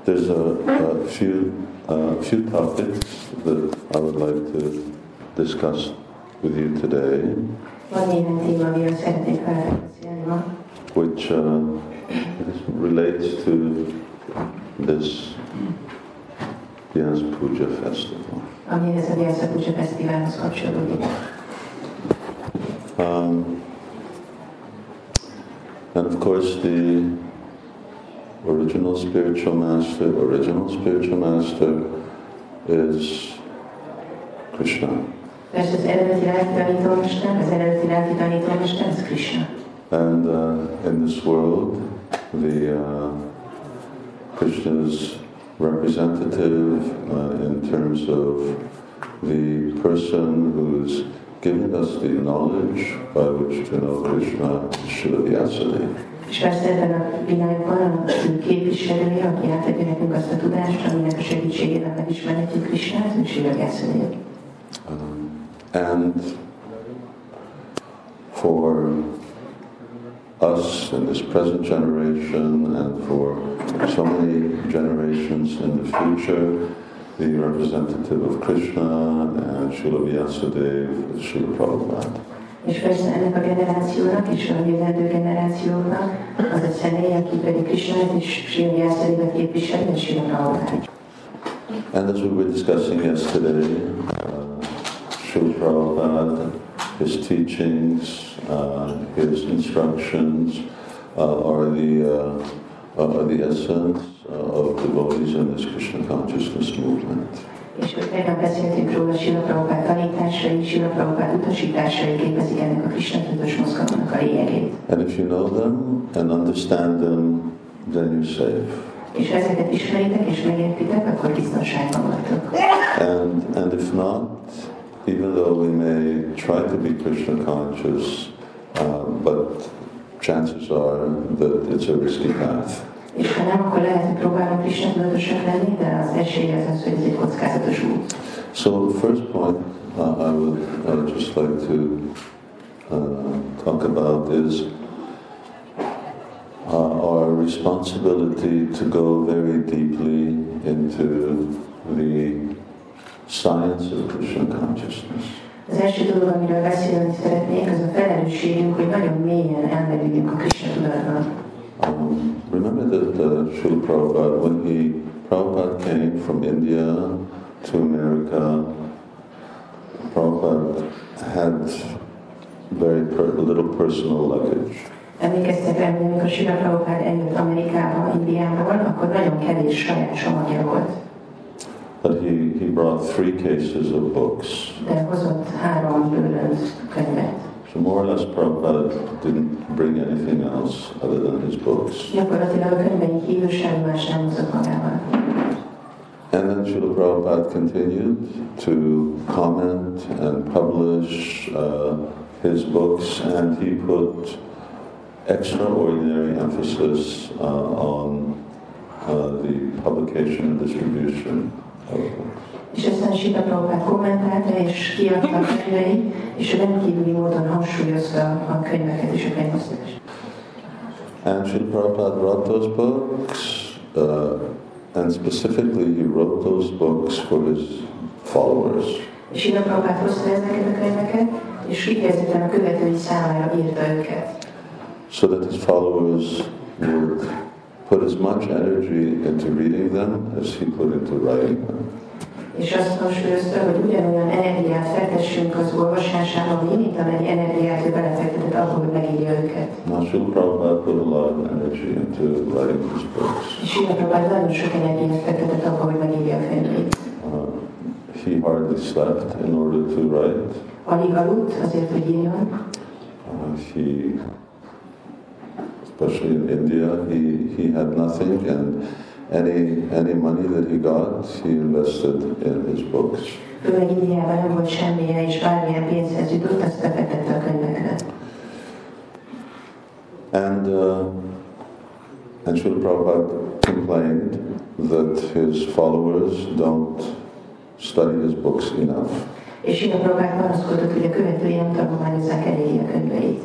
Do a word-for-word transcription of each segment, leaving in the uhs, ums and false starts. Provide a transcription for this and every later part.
there's a, a few a few topics that I would like to discuss with you today, which uh, relates to this Vyasa Puja festival. Um, and of course the original spiritual master, original spiritual master is Krishna. And uh, in this world, the uh, Krishna's representative uh, in terms of the person who's giving us the knowledge by which to know Krishna, Srila Vyasadeva. És persze ebben a világban a képviselője, aki átadja nekünk azt a tudást, aminek a segítségével megismerhetjük Krishnát, ő Srila Vyasadeva. And for us in this present generation and for so many generations in the future, the representative of Krishna and Srila Vyasadeva is Srila Prabhupada. És persze ennek a generációnak és a jövendő generációknak az a személy, aki pedig Krishnát és Srila Vyasadevat képviseli, és Srila Prabhupada. And as we were discussing yesterday, uh, Srila Prabhupada, his teachings, uh, his instructions uh, are the uh, are the essence uh, of devotees in this Krishna consciousness movement. És hogy tegnap beszéltünk róla, Srila Prabhupada tanításai, Srila Prabhupada utasításai képezik ennek a Krishna tudatos mozgalomnak a lényegét. And if you know them and understand them, then you're safe. És ha ezeket ismeritek és megértitek, akkor biztonságban vagytok. And and if not, even though we may try to be Krishna conscious, uh, but chances are that it's a risky path. És ha nem, akkor lehet, hogy próbálunk Krishna tudatosak lenni, de az esély az az, hogy ez egy kockázatos út. So the first point uh, I would uh, just like to uh, talk about is uh, our responsibility to go very deeply into the science of Krishna consciousness. Az első dolog, amiről beszélni szeretnék, az a felelősségünk, hogy nagyon mélyen elmerüljünk a Krishna tudatban. Um, remember that uh, Srila Prabhupada, when he Prabhupada came from India to America, Prabhupada had very per, little personal luggage. Emlékeztek rá, hogy amikor Srila Prabhupada eljött Amerikába, Indiából, akkor nagyon kevés saját csomagja volt. But he, he brought three cases of books. De hozott három bőrönt könyvet. So more or less Prabhupada didn't bring anything else other than his books. Gyakorlatilag a könyveink kívül semmi más nem hozott magával. And then Srila Prabhupada continued to comment and publish uh, his books, and he put extraordinary emphasis uh, on uh, the publication and distribution of books. És aztán Srila Prabhupada kommentálta és kiadta a könyveit, és rendkívüli módon hangsúlyozta a könyveket és a könyvosztást. And Srila Prabhupada wrote those books, uh, and specifically he wrote those books for his followers. És Srila Prabhupada hozta ezeket a könyveket, és kifejezetten a követői számára írta őket. So that his followers would put as much energy into reading them as he put into writing them. És azt hangsúlyozta, hogy ugyanolyan energiát fektessünk az olvasásába, mint amennyi energiát ő belefektetett abba, hogy megírja őket. Now Srila Prabhupada put a lot of energy into writing his books. És Srila Prabhupada nagyon sok energiát fektetett abba, hogy megírja a könyvét. Uh, he hardly slept in order to write. Alig aludt azért, hogy írjon. Uh, he, especially in India, he, he had nothing, and Any any money that he got, he invested in his books. Főleg Indiában nem volt semmilyen, és bármilyen pénzhez jutott, azt befektette a könyvekre. And uh, and Srila Prabhupada complained that his followers don't study his books enough. És Srila Prabhupada panaszkodott, hogy a követői nem tanulmányozzák eléggé a könyveit.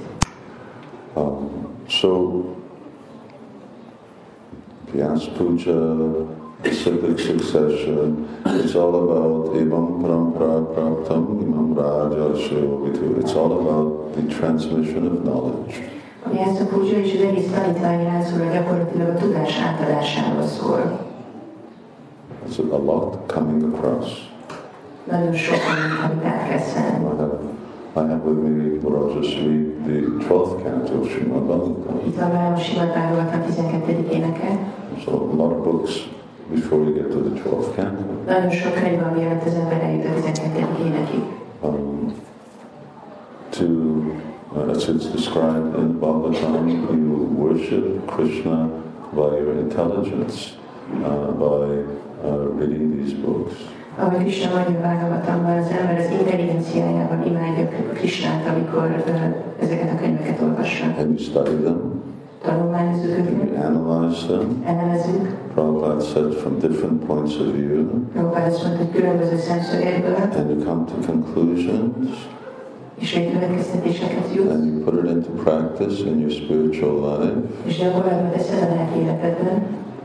Um, so Vyasa Puja cyclic succession. It's all about imam parampara praptam, imam raja shivavitu. It's all about the transmission of knowledge. Ami ezt a puja és az egész tanítványirányzóra gyakorlatilag a tudás átadásáról szól. There's a lot coming across. Nagyon sok amit át kell szenni. I have with me, or I'll just read the twelfth canto of Srimad Bhagavatam. Itt van velem a Srimad Bhagavatam tizenkettedik éneke. So a lot of books before you get to the twelfth canto. Nagyon sok könyv van, mielőtt az ember eljut a tizenkettedik énekig. Um, to, uh, as it's described in Bhagavatam, you worship Krishna by your intelligence, uh, by uh, reading these books. Ahogy Krishna mondja a Bhagavatamban, az ember az intelligenciájával imádja Krishnát, amikor uh, ezeket a könyveket olvassa. And you study them. Tanulmányozzuk And őket. you analyze them. Elemezzük. Prabhupada said from different points of view. Prabhupada azt mondta, hogy különböző szemszögekből, And you come to conclusions. és végkövetkeztetéseket jut, And you put it into practice in your spiritual life. és gyakorlatban teszed a lelki életedben.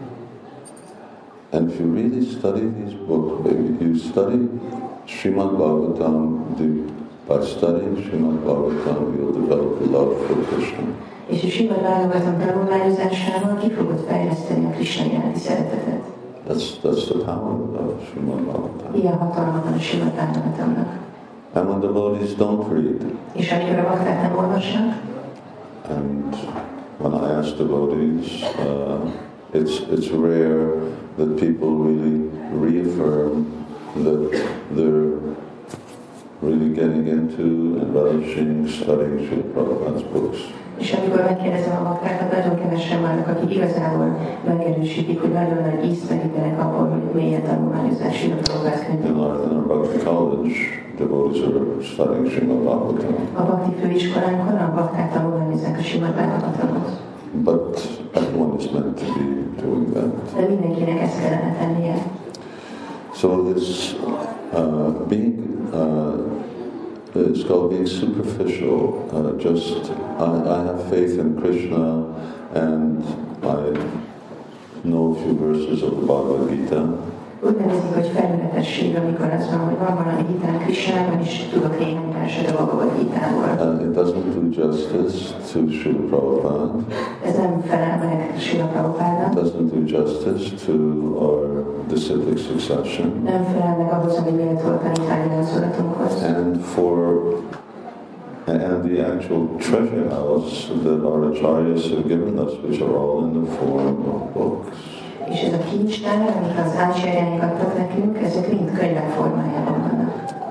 And if you really study these books, baby, you study Srimad Bhagavatam, by studying Srimad Bhagavatam, you'll develop love for Krishna. És a Srimad Bhagavatam tanulmányozásával ki fogod fejleszteni a Krishna iránti szeretetet. That's, that's the power of Srimad Bhagavatam. Ilyen hatalma van a Srimad Bhagavatamnak. And when devotees don't read, És amikor a bakták nem olvasnak, and when I ask devotees, uh, it's, it's rare that people really reaffirm that they're really getting into and relishing studying Srila Prabhupada's books. és amikor megkérdezem a baktákat, nagyon kevesen vannak, akik igazából megerősítik, hogy nagyon nagy ízt merítenek abból, hogy mélyen tanulmányozzák Srila Prabhupád In könyvét. our, in our Bhakti college, devotees are studying Srimad Bhagavatam. A Bhakti főiskolánkon a bakták tanulmányozzák a Srimad Bhagavatamot. But everyone is meant to be doing that. De mindenkinek ezt kellene tennie. So this uh, being, uh, it's called being superficial. Uh, just, I, I have faith in Krishna and I know a few verses of the Bhagavad Gita. Úgy nevezik, hogy felületesség, amikor az van, hogy van valami hitán Krishnában, és tudok néhány verset a Bhagavad Gitából. And it doesn't do justice to Srila Prabhupada. Ez nem felel meg Srila It Prabhupádnak, doesn't do justice to our disciplic succession. nem felel meg ahhoz, ami méltó a tanítványirányzólatunkhoz. And for and the actual treasure house that our acharyas have given us, which are all in the form of books. És ez a kincstár, amit az ácsárjáink adtak nekünk, ezek mind könyvek formájában vannak.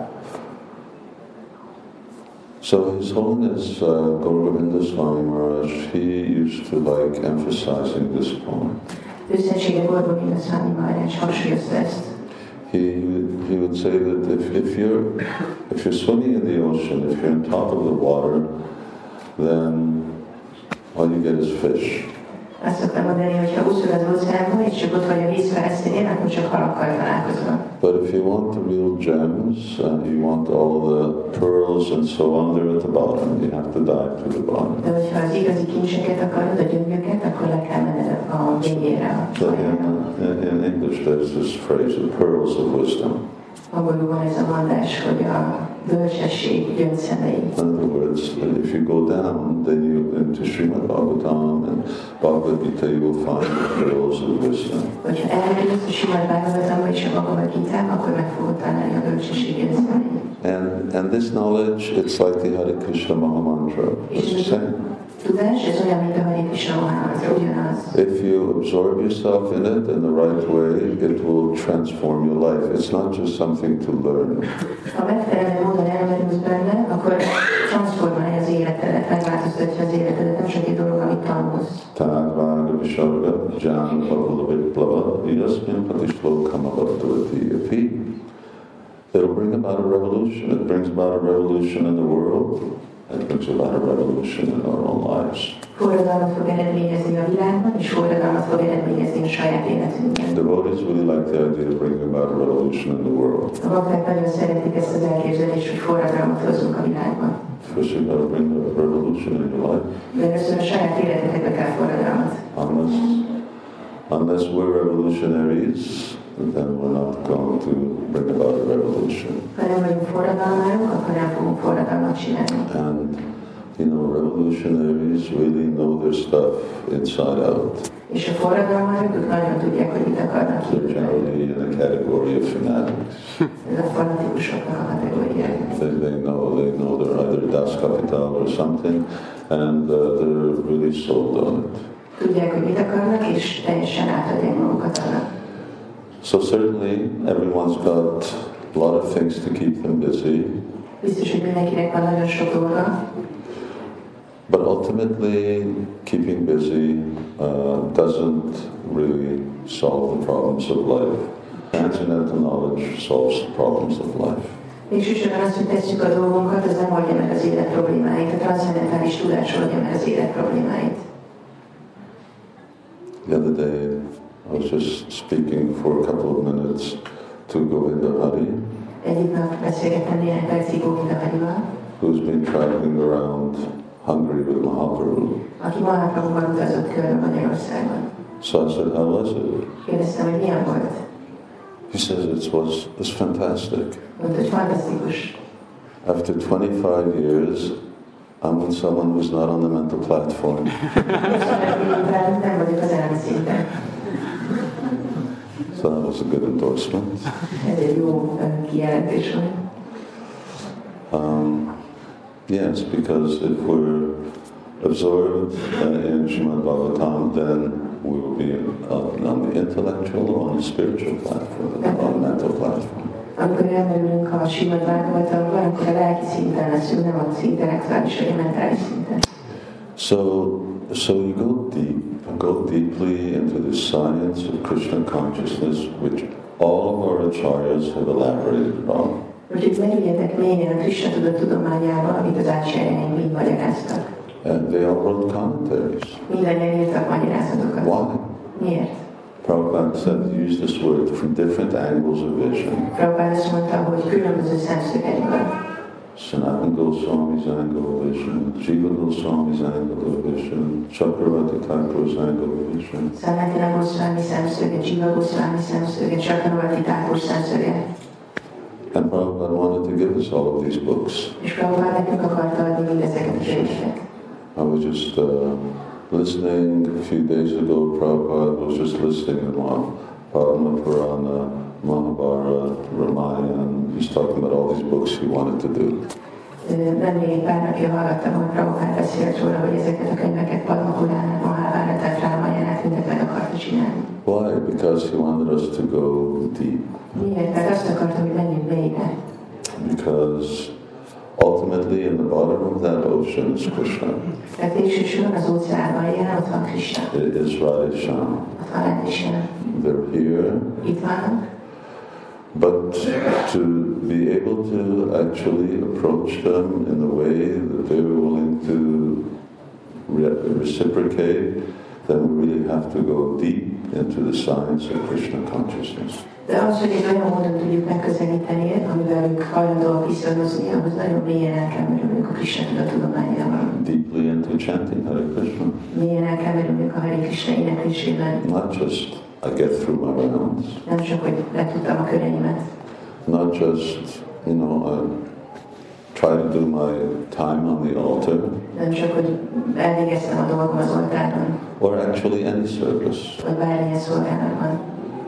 So His Holiness uh, Gauravinda Swami Maharaj, he used to like emphasizing this point. Őszentsége Gauravinda Swami Maharaj hangsúlyozta ezt. He he would say that if, if you're if you're swimming in the ocean, if you're on top of the water, then all you get is fish. Azt szoktam mondani, hogy ha úszol az óceánban, és csak ott vagy a víz felszínén, akkor csak halakkal találkozol. But if you want the real gems, and you want all the pearls and so on, they're at the bottom. You have to dive to the bottom. De hogyha az igazi kincseket akarod, a gyöngyöket, akkor le kell menned a végére. So in, in, in English, there's this phrase, the pearls of wisdom. Angolul van ez a mondás, hogy a bölcsesség gyöngyszemei. In other words, if you go down, then you into Srimad Bhagavatam and Bhagavad Gita, you will find the pearls of wisdom. Hogyha elmélyülsz a Srimad Bhagavatamban és a Bhagavad Gitában, akkor meg fogod találni a bölcsesség gyöngyszemei. And and this knowledge, it's like the Hare Krishna Maha Mantra. It's the same. Tudás, ez olyan, mint a Hare Krishna Maha Mantra, ugyanaz. If you absorb yourself in it in the right way, it will transform your life. It's not just something to learn. Ha megfelelő módon elmerülsz benne, akkor transformálja az életedet, megváltoztatja az életedet, nem csak egy dolog, amit tanulsz. Tadvaga Visharga Jan Pavlaviplava Yasmin Patishlokama Bhattavati. It'll bring about a revolution. It brings about a revolution in the world. It brings about a revolution in our own lives. Forradalmat fog eredményezni a világban, és forradalmat fog eredményezni a saját életünkben. Devotees really like the idea of bringing about a revolution in the world. A bakták nagyon szeretik ezt az elképzelést, hogy forradalmat hozzunk a világban. First you got to bring a revolution in your life. De először a saját életetekbe kell forradalmat. Unless, unless we're revolutionaries, then we're not going to bring about a revolution. Ha nem vagyunk forradalmárok, akkor nem fogunk forradalmat csinálni. And, you know, revolutionaries really know their stuff inside out. És a forradalmárok, ők nagyon tudják, hogy mit akarnak They're kívülni. generally in the category of fanatics. Ez a fanatikusoknak a kategóriája. They, they know, they know they're either Das Kapital or something, and uh, they're really sold on it. Tudják, hogy mit akarnak, és teljesen átadják magukat annak. So certainly everyone's got a lot of things to keep them busy, Biztos, hogy mindenkinek van nagyon sok dolga, but ultimately keeping busy uh, doesn't really solve the problems of life. Transcendental knowledge solves the problems of life. végsősorban azt, hogy tesszük a dolgunkat, az nem oldja meg az élet problémáit. A transzcendentális tudás oldja meg az élet problémáit. The other day I was just speaking for a couple of minutes to Govinda Hari, Egyik nap beszélgettem néhány percig Govinda Harival, who's been traveling around Hungary with Mahaprabhu. aki Mahaprabhuval utazott körbe Magyarországon. So I said, how was it? Kérdeztem, hogy milyen volt. He says it was it's fantastic. Mondta, hogy fantasztikus. After twenty-five years, I'm with someone who's not on the mental platform. Nem vagyok az elmi szinten. So that was a good endorsement. Ez egy jó kijelentés volt. Um, yes, because if we're absorbed uh, in Srimad Bhagavatam, then we will be uh, on the intellectual or on the spiritual platform, on the mental platform. Amikor elmerülünk a Srimad Bhagavatamban, akkor a lelki szinten leszünk, nem az intellektuális vagy a mentális szinten. So, so you go deep, go deeply into the science of Krishna consciousness, which all of our acharyas have elaborated on. Úgyhogy merüljetek mélyen a Krishna tudat tudományába, amit az átsejjeink mind magyaráztak. And they all wrote commentaries. Mindannyian írtak magyarázatokat. Why? Miért? Prabhupada said he used this word from different angles of vision. Prabhupád azt mondta, hogy különböző szemszögekből. Sanatana Goswami's angle of vision, Jiva Goswami's angle of vision, Chakravarti Thakur's angle of vision. Sanatana Goswami szemszöge, Jiva Goswami szemszöge, Chakravarti Thakur szemszöge. And Prabhupada wanted to give us all of these books. És Prabhupád nekünk akarta adni mindezeket a könyveket. I was just uh, listening a few days ago, Prabhupada was just listening to one, Padma Purana, Mahabharata, Ramayana. He's talking about all these books he wanted to do. Nemrég egy pár napja hallgattam, hogy Prabhupád beszélt róla, hogy ezeket a könyveket, Padma Puránát, Mahabharatát, Ramayánát, mindet meg akarta csinálni. Why? Because he wanted us to go deep. Miért? Mert azt akarta, hogy menjünk mélyre. Because ultimately in the bottom of that ocean is Krishna. Tehát végsősorban az óceánban jelen, ott van Krishna. It is Radhesham. Ott van Radhesham. They're here. Itt vannak. But to be able to actually approach them in a way that they're willing to re- reciprocate, then we really have to go deep into the science of Krishna consciousness. De az, hogy egy olyan módon tudjuk megközelíteni, amivel ők hajlandóak viszonyozni, ahhoz nagyon mélyen el kell merülnünk a Krishna tudattudományában. Deeply into chanting Hare Krishna. Mélyen el kell merülnünk a Hare Krishna éneklésében. Not just I get through my rounds. Nem csak, hogy letudtam a köreimet. Not just, you know, I try to do my time on the altar. Nem csak, hogy elvégeztem a dolgom az oltáron. Or actually any service. Vagy bármilyen szolgálatban.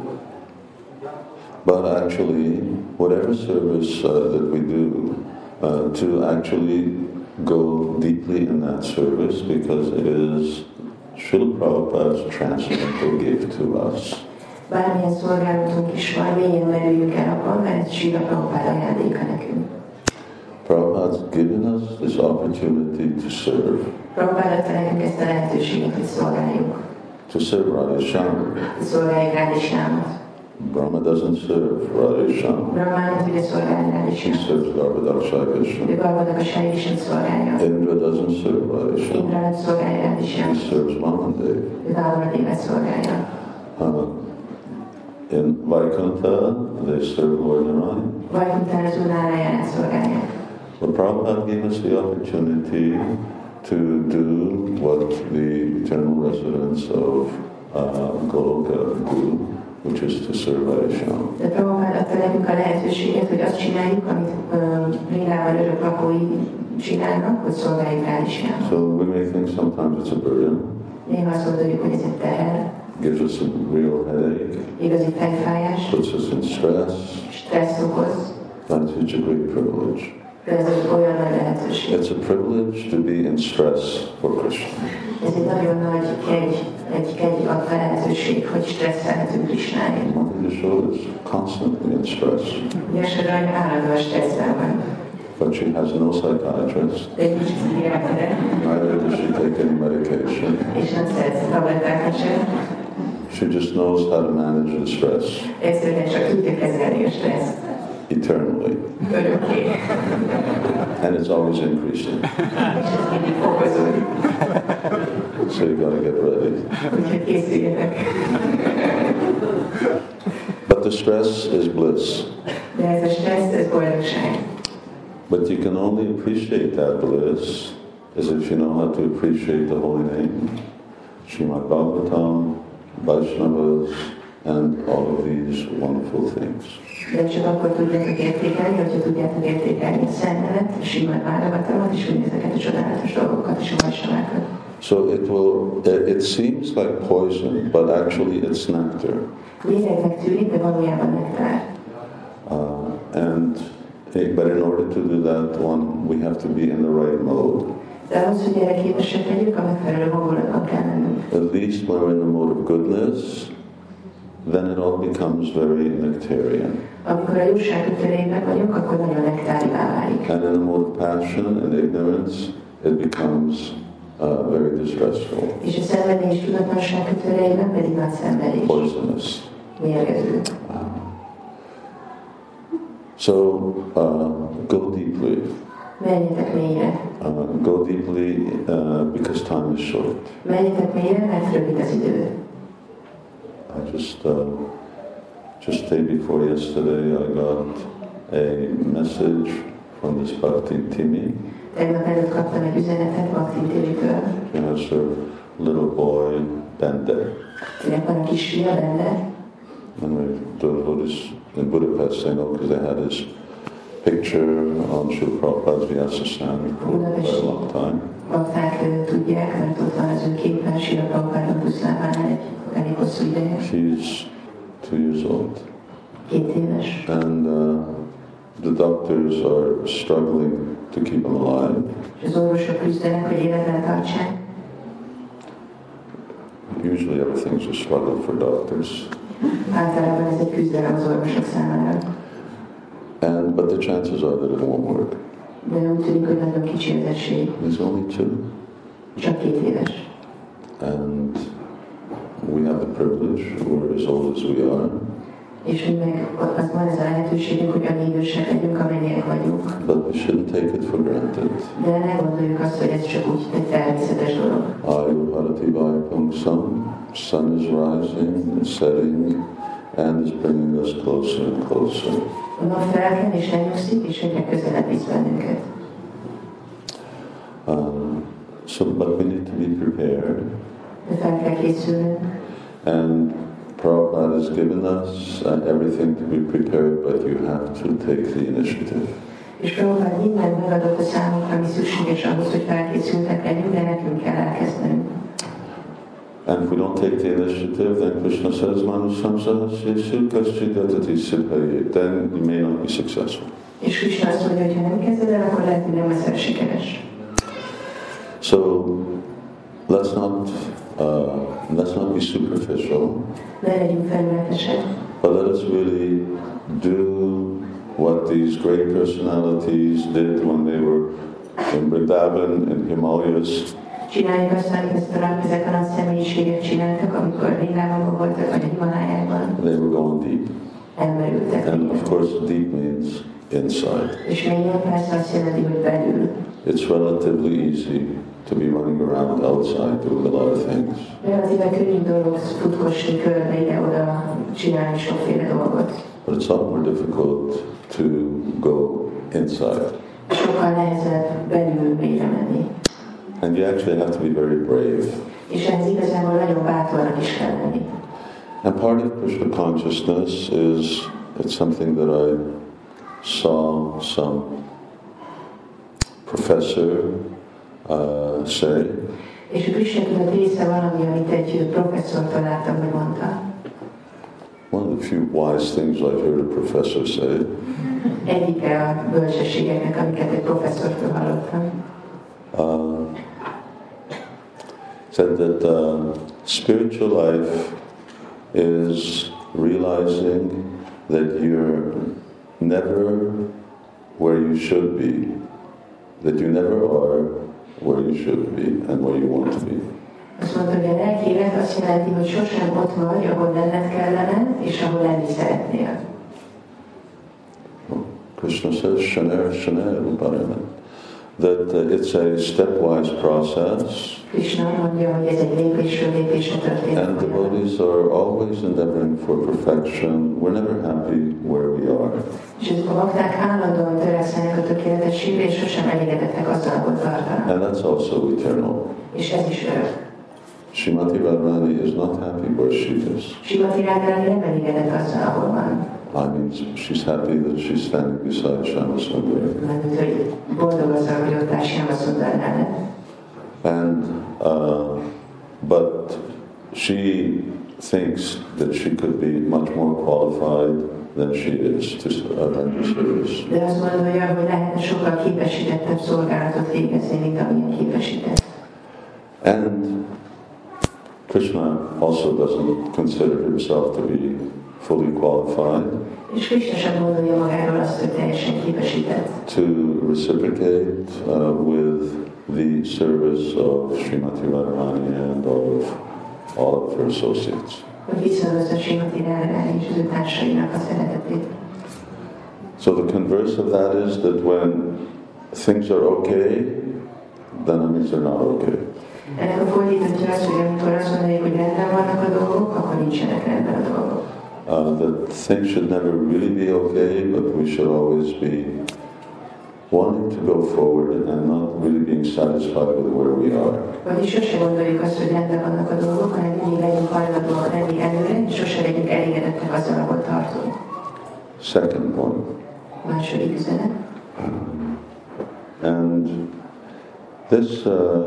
But actually, whatever service uh, that we do, uh, to actually go deeply in that service, because it is Srila Prabhupada's transcendental gift to us. Bármilyen szolgálatunk is van, mélyen merüljünk el abban, mert ez Srila Prabhupád ajándéka nekünk. Prabhupada's given us this opportunity to serve. Prabhupád adta nekünk ezt a lehetőséget, hogy szolgáljuk. To serve Radhesham. Hogy szolgáljuk Radheshamot. Brahma doesn't serve Radhesham. Brahma nem tudja szolgálni He Radheshamot. serves Garbhodakshaya Krishna. Ő Garbhodakshaya Krishnát szolgálja. Indra doesn't serve Radhesham. Indra nem szolgálja He Radheshamot. serves Mahadev. Ő Vamadevet szolgálja. Uh, in Vaikuntha, they serve Lord Narayan. Vajkuntán az Úr Nárájánát szolgálják. But Prabhupada gave us the opportunity to do what the eternal residents of uh, goal, do, which is to serve Vaishnava. De Prabhupád adta nekünk a lehetőséget, hogy azt csináljuk, amit Vrindában örök lakói csinálnak, hogy szolgáljuk Radhishyámat. So we may think sometimes it's a burden. Néha azt gondoljuk, hogy ez egy teher, gives us a real headache, igazi fejfájás, puts us in stress. Stressz okoz. That's such a great privilege. De ez egy olyan nagy lehetőség. It's a privilege to be in stress for Krishna. Ez egy nagyon nagy kegy, egy kegy adta lehetőség, hogy stresszelhetünk Krishnáért. Yashoda is constantly in stress. Yashoda állandóan stresszben van. But she has no psychiatrist. De nincs pszichiátere. Neither does she take any medication. És nem szedsz tablettákat sem. She just knows how to manage the stress. Egyszerűen csak tudja kezelni a stresszt. Eternally. Örökké. And it's always increasing. És ez mindig fokozódik. So you got to get ready. Úgyhogy készüljetek. But the stress is bliss. De ez a stressz, ez boldogság. But you can only appreciate that bliss as if you know how to appreciate the holy name, Srimad Bhagavatam, Vaishnavas, and all of these wonderful things. De csak akkor tudjátok értékelni, hogyha tudjátok értékelni a Szent Nevet, a Srimad Bhagavatamot, és mindezeket a csodálatos dolgokat és a Vaisnavákat. So it will, it seems like poison, but actually it's nectar. Lényegnek tűnik, de valójában nektár. Uh, and but in order to do that, one, we have to be in the right mode. De ahhoz, hogy erre képesek legyünk, a megfelelő hangulatban kell lennünk. At least when we're in the mode of goodness, then it all becomes very nectarian. Amikor a jóság kötelében vagyunk, akkor nagyon nektárivá válik. And in the mode of passion and ignorance, it becomes uh, very distressful. És a szenvedés tudatlanság kötelében pedig nagy szenvedés. Poisonous. Mérgező. So uh, go deeply. Menjetek mélyre. Uh, go deeply uh, because time is short. Menjetek mélyre, mert rövid az idő. I just uh, just day before yesterday, I got a message from this Bhakti Timi. Tegnap előtt kaptam egy üzenetet Bhakti Timitől. She has her little boy Bender. Kinek van a kisfia, Bender. And we the Buddhist in Budapest, I know, because they had his picture on Srila Prabhupada's Vyasasana for quite a long time. Bakták tudják, mert ott van az ő képen Srila Prabhupád Buszlávánál egy elég hosszú ideje. She's two years old. Két éves. And uh, the doctors are struggling to keep him alive. És az orvosok küzdenek, hogy életben tartsák. Usually everything's a struggle for doctors. Általában ez egy küzdelem az orvosok számára. And but the chances are that it won't work. De úgy tűnik, hogy nagyon kicsi az esély. He's only two. Csak két éves. And we have the privilege, we're as old as we are. És mi meg az van ez a lehetőségünk, hogy annyi idősek legyünk, amennyiek vagyunk. But we shouldn't take it for granted. De ne gondoljuk azt, hogy ez csak úgy egy természetes dolog. Ayu Bharati Vaipungsam, sun is rising and setting and is bringing us closer and closer. A nap felkel és elnyugszik, és egyre közelebb visz bennünket. Um, so, but we need to be prepared. De fel kell készülnünk. And Prabhupada has given us uh, everything to be prepared, but you have to take the initiative. És Prabhupád mindent megadott a számunkra, ami szükséges ahhoz, hogy felkészültek legyünk, de nekünk kell elkezdenünk. And if we don't take the initiative, then Krishna says, Manusam sahasyesu kaschidadati siddhaye. Then you may not be successful. És Krishna azt mondja, hogy ha nem kezded el, akkor lehet, hogy nem leszel sikeres. So let's not uh, let's not be superficial. Ne legyünk felületesek, But let us really do what these great personalities did when they were in Vrindavan, in Himalayas. csináljuk azt, amit ezt a, ezek a nagy személyiségek csináltak, amikor Vrindávonban voltak, vagy a Himalájában. They were going deep. Elmerültek. And of course, deep means inside. És mélyen persze azt jelenti, hogy belül. It's relatively easy to be running around outside doing a lot of things. Relatíve könnyű dolog futkosni körbe ide-oda, csinálni sokféle dolgot. But it's a lot more difficult to go inside. Sokkal nehezebb belül mélyre menni. And you actually have to be very brave. És ehhez igazából nagyon bátornak is kell lenni. And part of Krishna consciousness is, it's something that I saw some professor uh, say. És a Krishna tudat része valami, amit egy professzortól láttam, hogy mondta. One of the few wise things I've heard a professor say. Egyike a bölcsességeknek, amiket egy professzortól hallottam. Uh, said that uh, spiritual life is realizing that you're never where you should be, that you never are where you should be and where you want to be. Azt mondta, hogy a lelki élet azt jelenti, hogy sosem ott vagy, ahol lenned kellene, és ahol lenni szeretnél. Krishna says, Shaner, Shaner, Uparaman. That uh, it's a stepwise process. Krishna mondja, hogy ez egy lépésről lépésre történik. And devotees are always endeavoring for perfection. We're never happy where we are. És a bakták állandóan törekszenek a tökéletességre, és sosem elégedettek azzal, ahol tartanak. And that's also eternal. És ez is örök. Srimati Radharani is not happy where she is. Srimati Radharani nem elégedett azzal, ahol van. I mean, she's happy that she's standing beside Shyamasundari. Mert hogy boldog azzal, hogy ott áll Shyamasundar mellett. And, uh, but she thinks that she could be much more qualified than she is to render service. De azt gondolja, hogy lehetne sokkal képesítettebb szolgálatot végezni, mint amilyen képesített. And Krishna also doesn't consider himself to be fully qualified És Krishna sem gondolja magáról azt, hogy teljesen képesített. to reciprocate uh, with the service of Srimati Radharani and all of, all of her associates. Hogy viszonozza Srimati Radharani és az ő társainak a szeretetét. So the converse of that is that when things are okay, then it means they're not okay. Ennek a fordítottja az, hogy amikor azt mondjuk, hogy rendben vannak a dolgok, akkor nincsenek rendben a dolgok. Uh, that things should never really be okay, but we should always be wanting to go forward and not really being satisfied with where we are. Vagyis sose gondoljuk azt, hogy rendben vannak a dolgok, hanem mindig legyünk hajlandóak lenni előre, és sose legyünk elégedettek azzal, ahol tartunk. Second point. Második üzenet. And this, uh,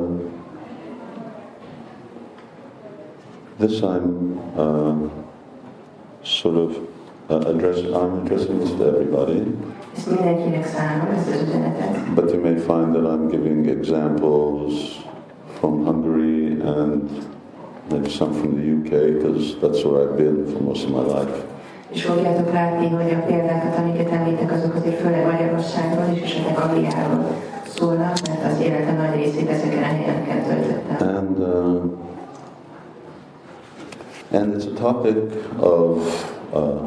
this I'm uh, sort of uh, addressing, I'm addressing this to everybody. Ezt mindenkinek szánom, ezt az üzenetet. But you may find that I'm giving examples from Hungary and maybe some from the U K, because that's where I've been for most of my life. És fogjátok látni, hogy a példákat, amiket említek, azok azért főleg Magyarországról és esetleg Angliáról szólnak, mert az életem nagy részét ezeken a helyeken töltöttem. And, uh, and it's a topic of uh,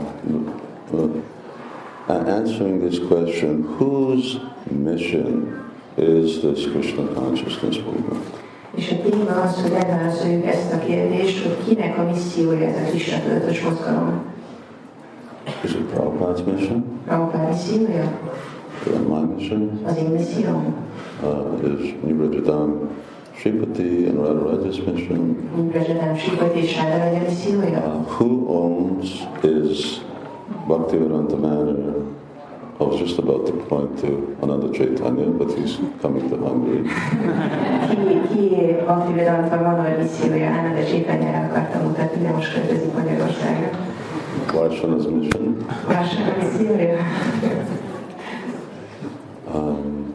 uh, answering this question, whose mission is this Krishna consciousness movement? És a téma az, hogy megválaszoljuk ezt a kérdést, hogy kinek a missziója ez a Krishna tudatos mozgalom. Is it Prabhupada's mission? Prabhupád missziója? Is it my mission? Az én misszióm? Uh, is Nibrajadam Sripati and Radharaja's mission? Nibrajadam Sripati és Radharaja missziója? Uh, who owns is Bhaktivedanta Manor? I was just about to point to another Chaitanya, but he's coming to Hungary. Ki, ki Bhaktivedanta Manor missziója? Ananda Chaitanyára akartam mutatni, de most költözik Magyarországra. Varshana's mission. Varsana missziója? Um,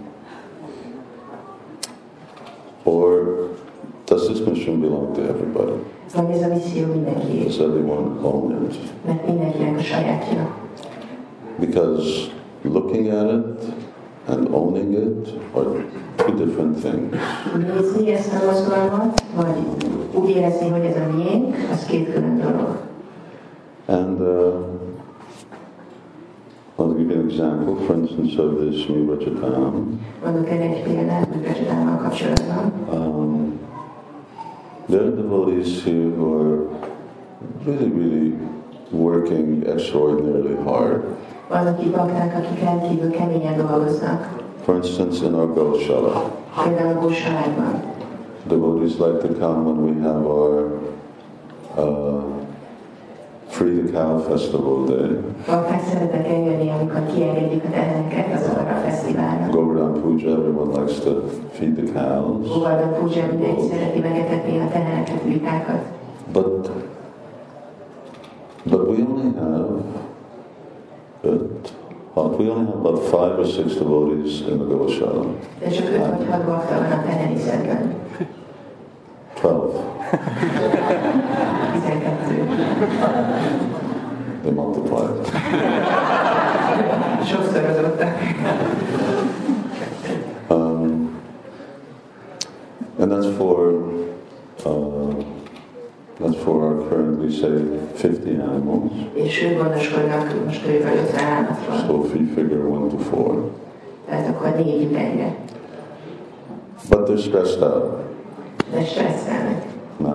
or does this mission belong to everybody? Vagy ez a misszió mindenki? Does everyone own it? Mert mindenkinek a sajátja. Because looking at it and owning it are two different things. Nézni ezt a mozgalmat, vagy úgy érezni, hogy ez a miénk, az két külön dolog. And uh, I'll give you an example, for instance, of this Nibrajadam. Mondok erre egy példát, Nibrajadámmal kapcsolatban. Um, there are devotees here who are really, really working extraordinarily hard. Vannak itt bakták, akik rendkívül keményen dolgoznak. For instance, in our Goshala. Például a Gósaládban. devotees like to come when we have our uh, Free the Cow Festival Day. Bakták szeretnek eljönni, amikor kiengedjük a teheneket azokra a fesztiválra. Govardhan Puja, everyone likes to feed the cows. Govardhan Puja, mindenki szereti megetetni a teheneket, vitákat. But, but we only have, it, we only have about five or six devotees in the Goshala. De csak öt vagy hat bakta van a tehenészetben. Twelve. Tizenkettő. They multiplied. Sokszorozottak. Um, and that's for uh, that's for our currently say fifty animals. És ők gondoskodnak most körülbelül ötven állatról. So if you figure one to four. Tehát akkor négy egyre. But they're stressed out. De stresszelnek. No?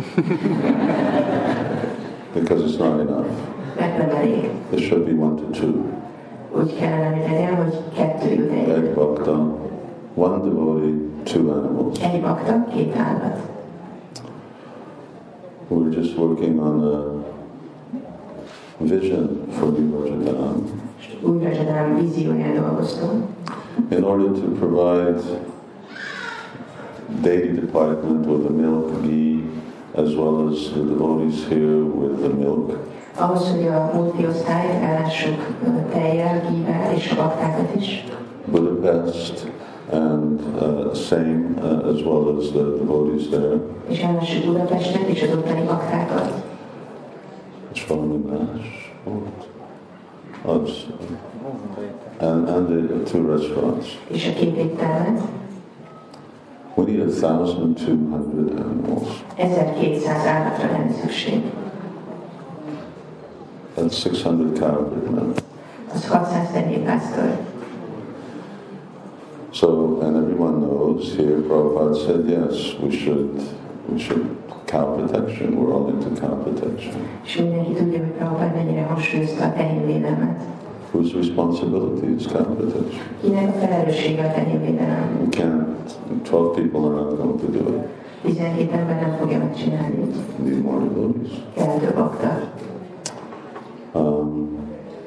Because it's not enough. Mert nem elég. It should be one to two. Úgy kellene, hogy legyen, hogy kettő jut egy. Egy bhakta, one devotee, two animals. Egy bakta, két állat. We're just working on a vision for New Rajadam. Új Rajadam vízióján dolgoztunk. In order to provide daily department with the milk, ghee, as well as the devotees here with the milk. Ahhoz, hogy a multiosztályt ellássuk tejjel, gível és a baktákat is. Budapest and uh, same uh, as well as the devotees there. És ellássuk Budapestet és az ottani baktákat. Svalaminas, and, and the two restaurants. És a két éttermet. We need a thousand two hundred animals. ezerkétszáz állatra lenne szükség. That's six hundred cowherdmen. Az hatszáz tenyérpásztor. So, and everyone knows here, Prabhupada said, yes, we should, we should cow protection. We're all into cow protection. És mindenki tudja, hogy Prabhupada mennyire hangsúlyozta a tehénvédelmet. Whose responsibility is cow protection? Kinek a felelőssége a tehénvédelem? We can't, twelve people are not going to do it. tizenkét ember nem fogja megcsinálni. Need more devotees. Kell több bakta. Um,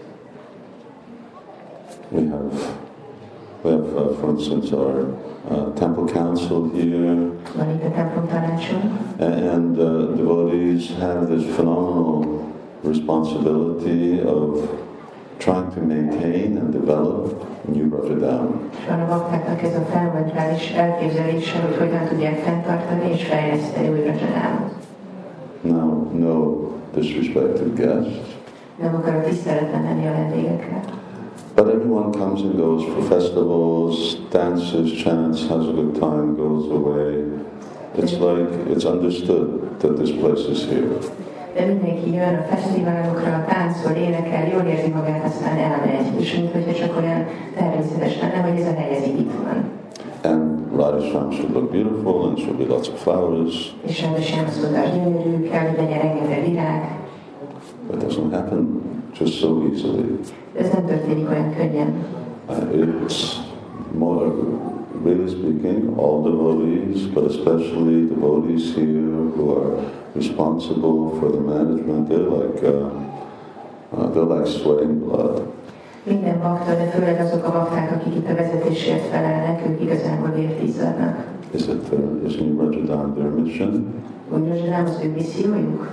we have, we have, uh, for instance, our uh, temple council here, Van itt a templom tanácson. and uh, devotees have this phenomenal responsibility of trying to maintain and develop New Rajadam. És van a baktáknak ez a felmentális elképzelése, hogy hogyan tudják fenntartani és fejleszteni új Rajadámot. Now, no disrespect to guests, Nem akarok tiszteletlen lenni a vendégekre. but everyone comes and goes for festivals, dances, chants, has a good time, goes away. It's like, it's understood that this place is here. De mindenki jön a fesztiválokra, táncol, énekel, jól érzi magát, aztán elmegy. És mint hogyha csak olyan természetes lenne, hogy ez a hely ez így itt van. And Radhasham should look beautiful and should be lots of flowers. És rendesen azt mondta, hogy gyönyörű, kell, hogy legyen rengeteg virág. That doesn't happen just so easily. Ez nem történik olyan könnyen. Uh, it's more, really speaking, all devotees, but especially devotees here who are responsible for the management, they're like, uh, uh, they're like sweating blood. Minden bakta, de főleg azok a bakták, akik itt a vezetésért felelnek, ők igazából vért izzadnak. Is it their, is New Rajadam their mission? Úgy Rajadam az ő missziójuk?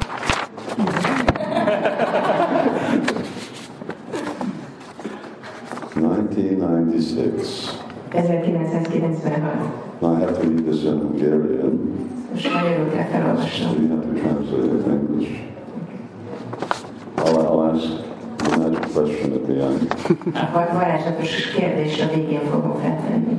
nineteen ninety-six. ezerkilencszázkilencvenhat. Now I have to read this in Hungarian. Most magyarul kell So felolvasnom. you have to translate it in English. I'll, I'll ask the magic question at the end. A varázslatos kérdést a végén fogom feltenni.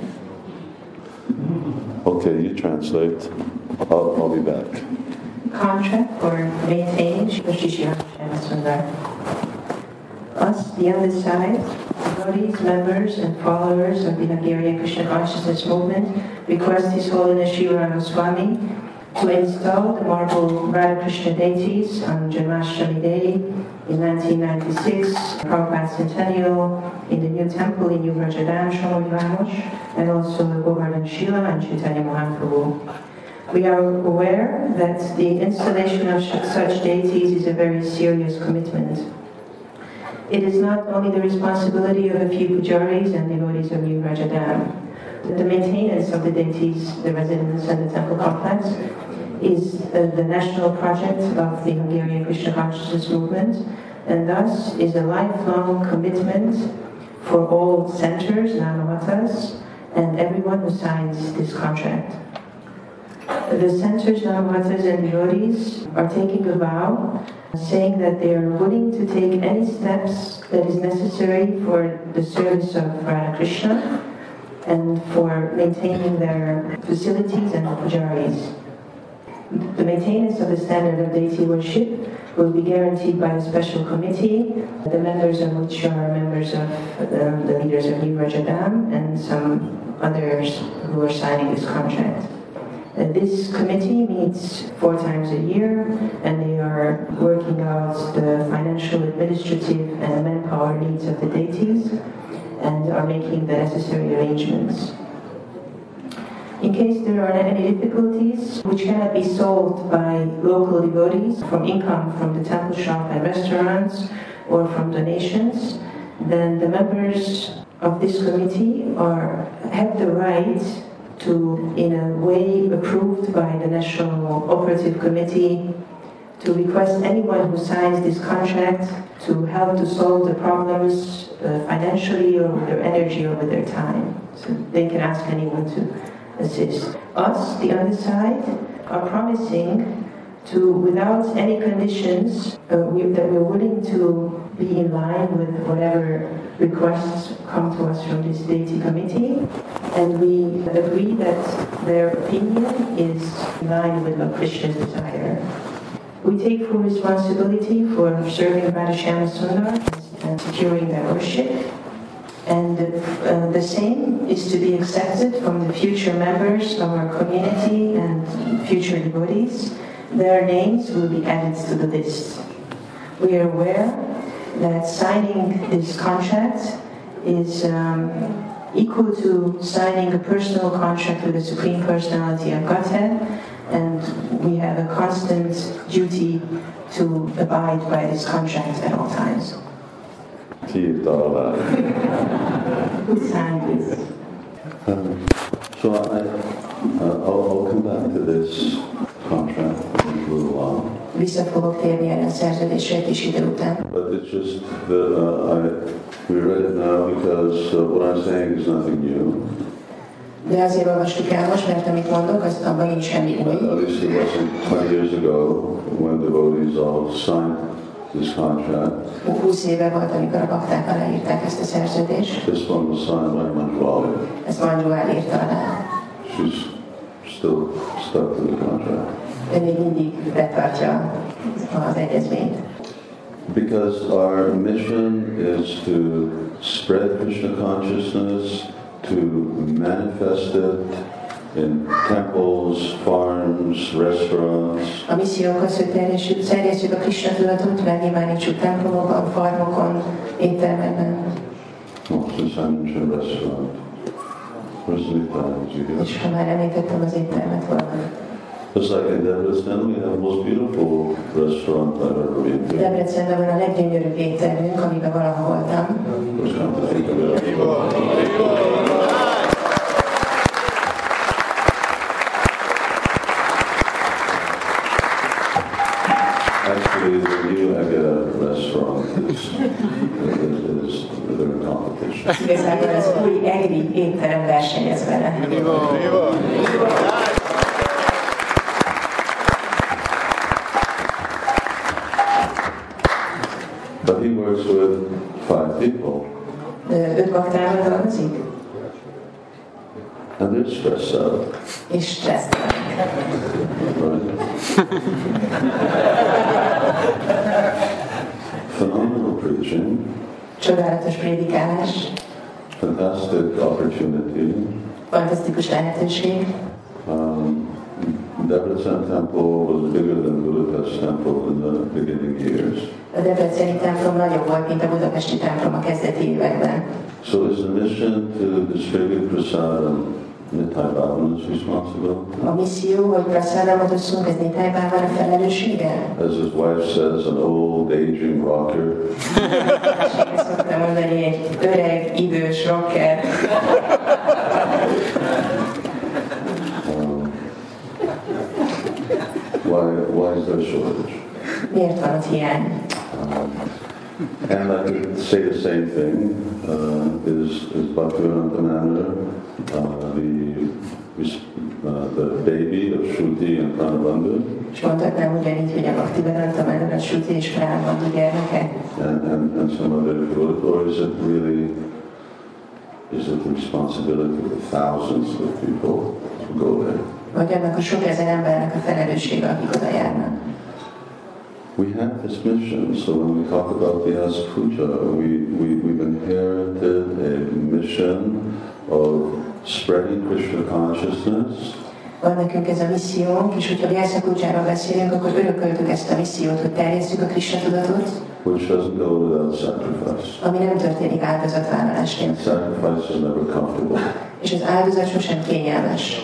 Okay, you translate. I'll, I'll be back. Contract for maintaining, most is jön, azt mondva. Us, the undersigned, devotees, members, and followers of the Hungarian Krishna Consciousness Movement request His Holiness Shiva Ramaswamy to install the marble Radha Krishna deities on Janmashtami Day in nineteen ninety-six, Prabhupada Centennial, in the new temple in New Rajadam, Somogy Vámos, and also the Govardhan Shila and Chaitanya Mahaprabhu. We are aware that the installation of such deities is a very serious commitment. It is not only the responsibility of a few pujaris and devotees of New Rajadam. The maintenance of the deities, the residence and the temple complex, is uh, the national project of the Hungarian Krishna Consciousness Movement, and thus is a lifelong commitment for all centers, Namamatas, and everyone who signs this contract. The centers, Namamatas, and devotees are taking a vow, saying that they are willing to take any steps that is necessary for the service of Radha Krishna and for maintaining their facilities and the pujaris. The maintenance of the standard of deity worship will be guaranteed by a special committee, the members of which are members of uh, the leaders of New Rajadam and some others who are signing this contract. Uh, this committee meets four times a year, and they are working out the financial, administrative, and manpower needs of the deities, and are making the necessary arrangements. In case there are any difficulties which cannot be solved by local devotees from income from the temple shop and restaurants or from donations, then the members of this committee are have the right to, in a way approved by the National Operative Committee, to request anyone who signs this contract to help to solve the problems uh, financially or with their energy or with their time. So they can ask anyone to assist. Us, the other side, are promising to, without any conditions, uh, we, that we're willing to be in line with whatever requests come to us from this deity committee, and we agree that their opinion is in line with what Krishna's desire. We take full responsibility for serving Radhashama Sundar and securing their worship, and uh, the same is to be accepted from the future members of our community and future devotees. Their names will be added to the list. We are aware that signing this contract is um, equal to signing a personal contract with the Supreme Personality of Godhead, and we have a constant duty to abide by this contract at all times. Who signed this? Um, so I, uh, I'll, I'll come back to this contract in a little while. Vissza fogok térni erre a szerződésre egy kis idő után. But it's just that uh, I, we read it now because uh, what I'm saying is nothing new. De azért olvastuk el most, mert amit mondok, az abban nincs semmi új. At least it wasn't twenty years ago when devotees all signed this contract. húsz éve volt, amikor a bakták aláírták ezt a szerződést. This one was signed by Manjuali. Ezt Manjuali írta alá. She's still stuck to the contract. De még mindig betartja az egyezményt. Because our mission is to spread Krishna consciousness, to manifest it in temples, farms, restaurants. A missziónk az, hogy terjesszük a Krishna tudatot, megnyilvánítsuk templomokban, farmokon, éttermekben. Oh, since I mentioned restaurant, where's the time? És ha már említettem az éttermet, hol van? Just like in Debrecen, we have the most beautiful restaurant I've ever been to. Debrecenben van a leggyönyörűbb éttermünk, amiben valaha voltam. Actually, the new Agada restaurant is, is, is they're in competition. Igazából az új egri étterem versenyez vele. But he works with five people. Öt baktával dolgozik? And they're stressed out. És stressztelenek. Right? Phenomenal preaching. Csodálatos prédikálás. Fantastic opportunity. Fantasztikus lehetőség. Um, Debrecen temple was bigger than Budapest temple in the beginning years. A debreceni templom nagyobb volt, mint a budapesti templom a kezdeti években. So it's a mission to distribute prasadam Nitai Bhavana's responsibility. A misszió, hogy Prasadamot osszunk, ez Nitai Bhavana felelőssége? As his wife says, an old aging rocker. Ezt szoktam mondani, egy öreg, idős rocker. um, why, why is there a shortage? Miért van ott hiány? Um, and I could say the same thing, uh, is, is Bhaktivedanta Manor, uh, the, uh, the baby of Shruti and Pranabandhu. És mondhatnám ugyanígy, hogy a Bhaktivedanta Manor, a Shruti és Pranabandhu gyermeke. And, and, and some other good, or is it really, is it the responsibility of the thousands of people who go there? Vagy annak a sok ezer embernek a felelőssége, akik oda járnak. We have this mission, so when we talk about the As Puja, we, we, we've inherited a mission of spreading Krishna consciousness. Van nekünk ez a missziónk, és hogyha Vyasa Pujáról beszélünk, akkor örököltük ezt a missziót, hogy terjesszük a Krishna tudatot, Which doesn't go without sacrifice. ami nem történik áldozatvállalás nélkül. Sacrifice is never comfortable. És az áldozat sosem kényelmes.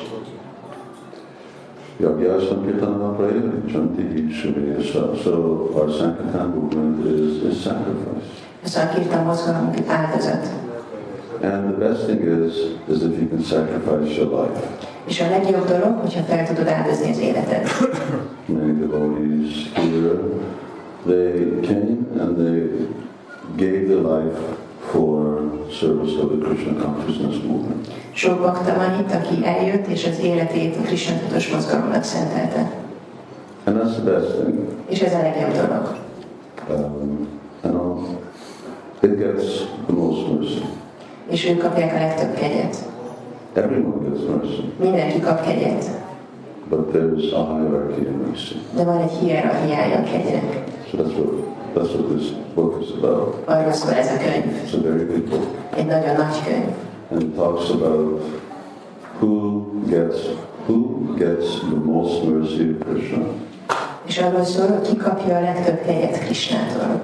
Yagya Sankirtana Prayajanti Shri. So our Sankirtan movement is, is sacrifice. A Sankirtan mozgalomunk egy áldozat. And the best thing is, is if you can sacrifice your life. És a legjobb dolog, hogyha fel tudod áldozni az életed. Many devotees here, they came and they gave their life for service of the Krishna consciousness movement. Sok bakta van itt, aki eljött, és az életét a Krishna tudatos mozgalomnak szentelte. And that's the best thing. És ez a legjobb dolog. Um, you know, it gets the most mercy. És ők kapják a legtöbb kegyet. Everyone gets mercy. Mindenki kap kegyet. But there's a hierarchy in mercy. De van egy hierarchiája a kegynek. So that's what, that's what this book is about. Arról szól ez a könyv. It's a very big book. Egy nagyon nagy könyv. And it talks about who gets, who gets the most mercy of Krishna. És arról szól, hogy ki kapja a legtöbb kegyet Krishnától.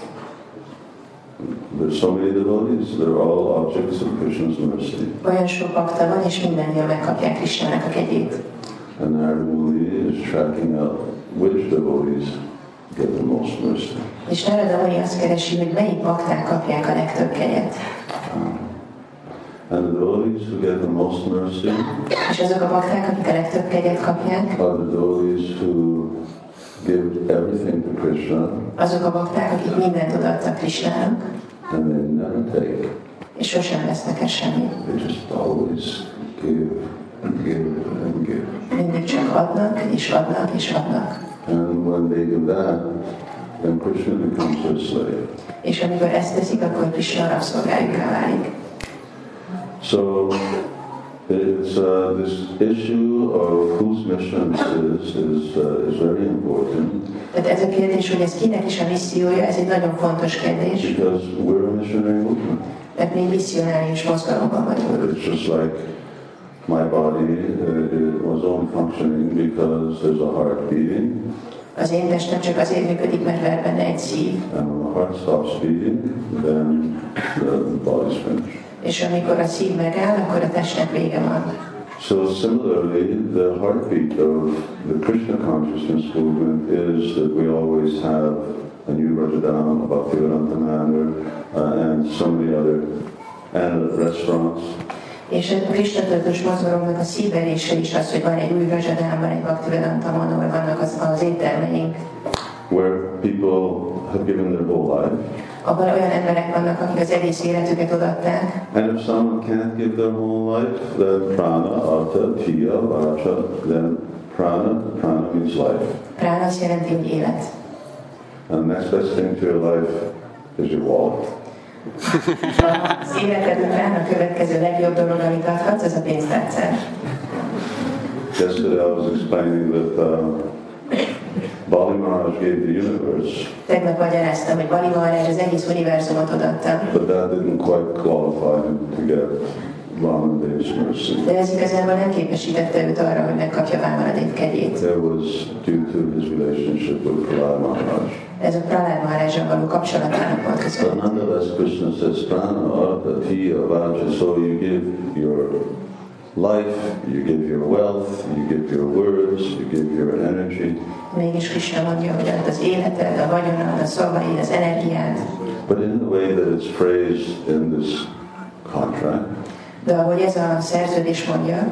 There's so many devotees, they're all objects of Krishna's mercy. Olyan sok bakta van, és mindennél megkapják Krishnának a kegyét. And Narada Muni is tracking out which devotees get the most mercy. És Narada Muni azt keresi, hogy melyik bakták kapják a legtöbb kegyet. And the devotees who get the most mercy És azok a bakták, akik a legtöbb kegyet kapják, are the devotees who give everything to Krishna. Azok a bakták, akik mindent odaadtak Krishnának, And they never take. és sosem vesznek el semmit. They just always give and give and give. Mindig csak adnak, és adnak, és adnak. And when they do that, then Krishna becomes their slave. És amikor ezt teszik, akkor Krishna rabszolgájukká válik. So it's uh, this issue of whose mission this is is, uh, is very important. Tehát ez a kérdés, hogy ez kinek is a missziója, ez egy nagyon fontos kérdés. Because we're a missionary movement. Mert mi misszionárius mozgalomban vagyunk. It's just like my body uh, it was only functioning because there's a heart beating. Az én testem csak azért működik, mert ver benne egy szív. And when the heart stops beating, then the body's finished. És amikor a szív megáll, akkor a testnek vége van. So similarly, the heartbeat of the Krishna consciousness movement is that we always have a new Rajadam, a Bhaktivedanta Manor, uh, and so many other, and restaurants. És a Krishna tudatos mozgalomnak a szívverése is az, hogy van egy új Rajadám, van egy Bhaktivedanta Manor, vannak az, az éttermeink. Where people have given their whole life. Abban olyan emberek vannak, akik az egész életüket odaadták. And if someone can't give their whole life, then prana, artha, tiya, vacha, then prana, prana means life. Prána azt jelenti, hogy élet. And the next best thing to your life is your wallet. Az életed után a következő legjobb dolog, amit adhatsz, az a pénztárcád. Yesterday I was explaining that uh, Bali Maharaj gave the universe. Tegnap magyaráztam, hogy Bali Maharaj az egész univerzumot odaadta. But that didn't quite qualify him to get Vamadeva's mercy. De ez igazából nem képesítette őt arra, hogy megkapja Vamanadev kegyét. It was due to his relationship with Prahlad Maharaj. Ez a Prahlad Maharajjal való kapcsolatának volt But köszönhető. nonetheless, Krishna says, prana, artha, tiya, vacha, so you give your life, you give your wealth, you give your words, you give your energy. Mégis Krishna mondja, hogy ad az életed, a vagyonad, a szavaid, az energiád. But in the way that it's phrased in this contract, de ahogy ez a szerződés mondja,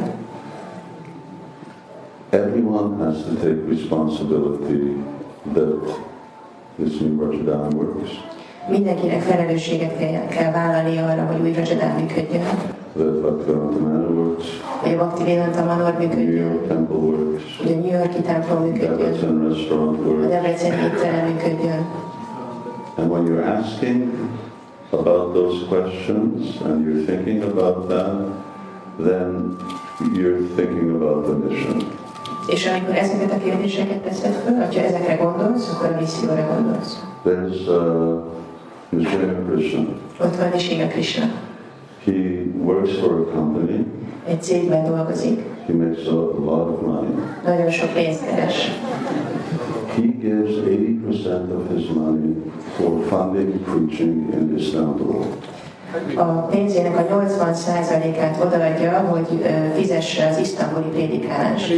everyone has to take responsibility that this new Vrajadham works. Mindenkinek felelősséget kell, kell vállalni arra, hogy új Vrajadham működjön. That Bhaktivedanta Manor works. Hogy a Bhaktivedanta Manor működjön. New York Temple works. Hogy a New Yorki templom működjön. Debrecen Restaurant works. A Debreceni étterem működjön. And when you're asking about those questions and you're thinking about that, then you're thinking about the mission. És amikor ezeket a kérdéseket teszed föl, ha ezekre gondolsz, akkor a misszióra gondolsz. There's uh, Nishima Krishna. Ott van Nishima Krishna. He works for a company. Egy cégben dolgozik. He makes a lot of money. Nagyon sok pénzt keres. He gives eighty percent of his money for funding preaching in Istanbul. A pénzének a nyolcvan százalékát odaadja, hogy fizesse az isztambuli prédikálást.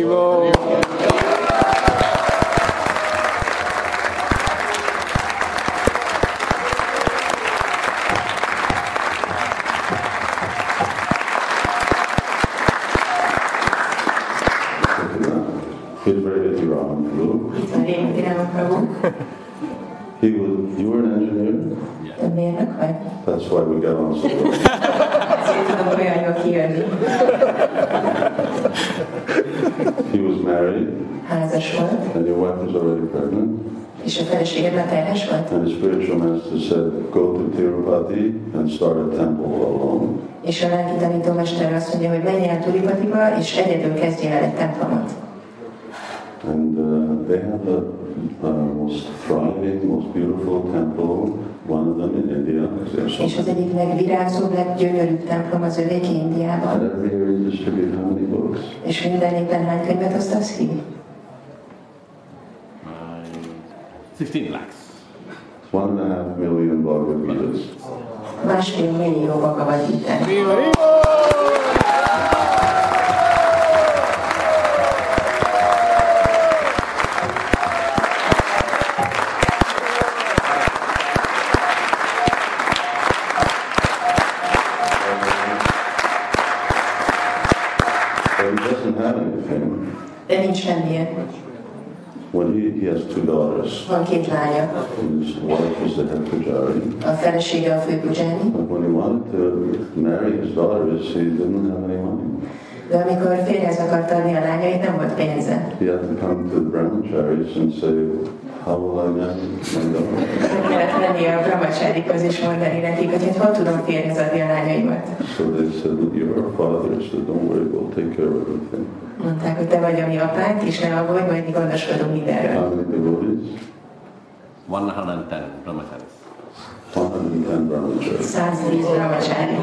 He was, you were an engineer? That's why we got on so well. He was married. And your wife was already pregnant. And the spiritual master said, go to Tirupati and start a temple alone. És a lelki tanítómester azt mondja, hogy menj el Tirupatiba, és egyedül kezdjél el egy templomot. And uh, they have the uh, most thriving, most beautiful temple, one of them in India. És az egyik legvirágzóbb, leggyönyörűbb templom az övéki Indiában. And every year you distribute how many books? És minden évben hány könyvet osztasz ki? sixteen lakhs. One and a half million Bhagavad Gitas. Másfél millió Bhagavad Gita. De nincs semmilyen. When he, he has two daughters. Van két lánya. His wife is the head pujari. A felesége a fő pujani. But when he wanted to marry his daughters, he didn't have any money. De amikor férjhez akart adni a lányait, nem volt pénze. He had to come to the brahmacharis and say, how will I marry my daughter? Meg kellett menni a brahmacharikhoz és mondani nekik, hogy hát hol tudom férjhez adni a lányaimat. So they said, you're our father, so don't worry, we'll take care of everything. Mondták, hogy te vagy a mi apánk, és ne aggódj, majd mi gondoskodunk mindenről. How many devotees? one hundred ten brahmacharis. one hundred ten brahmacharis. száztíz brahmachari.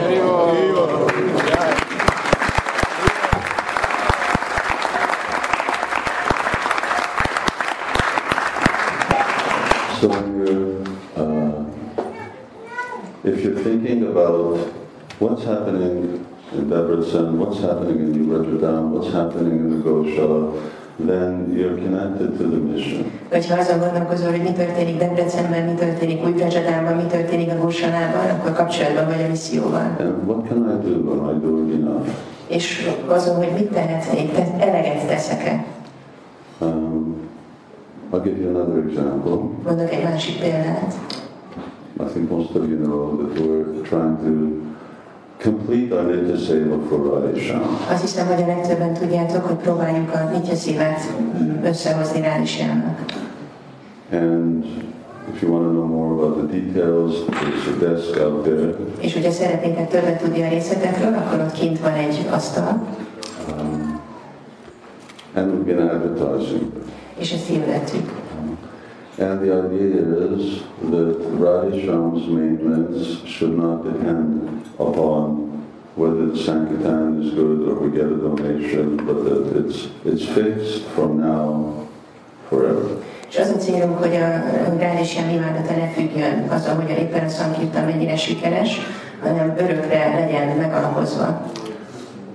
So when you're, uh, if you're thinking about what's happening in Debrecen, what's happening in New Vrajadham, what's happening in the Goshala, then you're connected to the mission. Hogyha azon gondolkozol, hogy mi történik Debrecenben, mi történik Új Vrajadhamban, mi történik a Gósalában, akkor kapcsolatban vagy a misszióval. And what can I do? Am I doing enough? És azon, hogy mit tehetnék, te eleget teszek-e? Um, I'll give you another example. Mondok egy másik példát. I think most of you know that we're trying to complete our Nitya Seva for Radhesham. Azt hiszem, hogy a legtöbben tudjátok, hogy próbáljuk a Nitya Szívát összehozni Radheshamnak. And if you want to know more about the details, there's a desk out there. És hogyha szeretnétek többet tudni a részletekről, akkor ott kint van egy asztal. Um, and we've been advertising. És ezt hirdettük. And the idea is that Radhesham's maintenance should not depend upon whether the Sankirtan is good or we get a donation, but that it's, it's fixed from now forever. És az a célunk, hogy a Radhesham imádata ne függjön azon, hogy éppen a Sankirtan mennyire sikeres, hanem örökre legyen megalapozva.